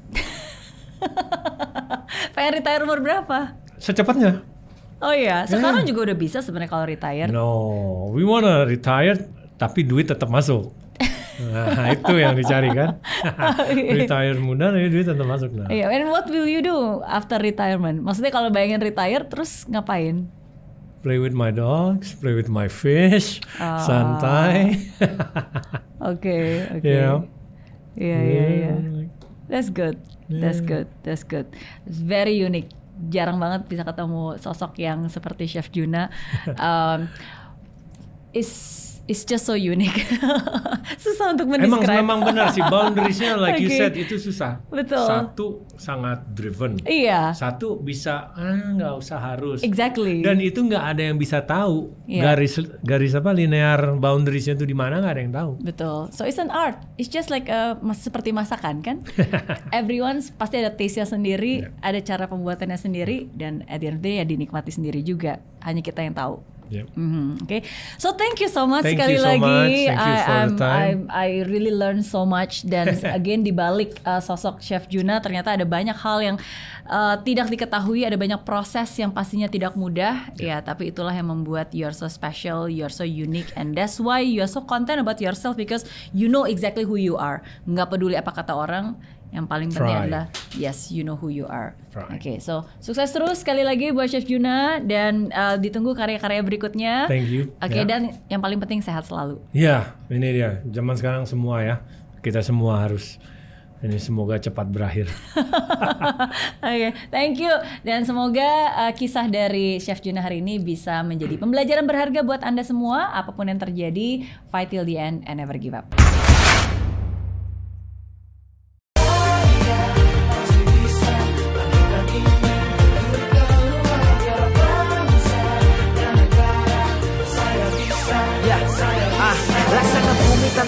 Pengen retire umur berapa? Secepatnya. Oh iya, sekarang yeah. juga udah bisa sebenarnya kalau retire. No, we wanna retire tapi duit tetap masuk. Nah, itu yang dicari kan. Retire muda tapi duit tetap masuk. Nah. Yeah, and what will you do after retirement? Maksudnya kalau bayangin retire terus ngapain? Play with my dogs, play with my fish, uh. santai. Oke, oke. Iya, iya, iya. That's good. Yeah. That's good. That's good. It's very unique. Jarang banget bisa ketemu sosok yang seperti Chef Juna. Um, is It's just so unique. Susah untuk mendescribe. Emang memang benar sih, boundariesnya like okay. you said itu susah. Betul. Satu sangat driven. Iya. Satu bisa ah nggak usah harus. Exactly. Dan itu nggak ada yang bisa tahu yeah. garis garis apa linear boundariesnya itu di mana, nggak ada yang tahu. Betul. So it's an art. It's just like a, seperti masakan kan. Everyone pasti ada taste-nya sendiri, yeah. ada cara pembuatannya sendiri, dan at the end of the day ya dinikmati sendiri juga. Hanya kita yang tahu. Yep. Mm-hmm. Oke, okay. So thank you so much thank sekali so lagi. Much. Thank you for I, the time. I, I really learned so much. Dan again di balik uh, sosok Chef Juna ternyata ada banyak hal yang uh, tidak diketahui, ada banyak proses yang pastinya tidak mudah. Yeah. Ya, tapi itulah yang membuat you're so special, you're so unique, and that's why you're so content about yourself because you know exactly who you are. Nggak peduli apa kata orang. Yang paling penting Try. adalah yes, you know who you are. Oke, okay, so sukses terus sekali lagi buat Chef Juna dan uh, ditunggu karya-karya berikutnya. Thank you. Oke, okay, yeah. dan yang paling penting sehat selalu. Ya, yeah, ini dia. Zaman sekarang semua ya, kita semua harus. Ini semoga cepat berakhir. Oke, okay, thank you. Dan semoga uh, kisah dari Chef Juna hari ini bisa menjadi pembelajaran berharga buat Anda semua. Apapun yang terjadi, fight till the end and never give up.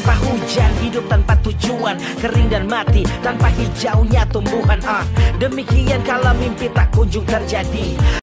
tanpa hujan, hidup tanpa tujuan, kering dan mati tanpa hijaunya tumbuhan. Ah, demikian kalau mimpi tak kunjung terjadi.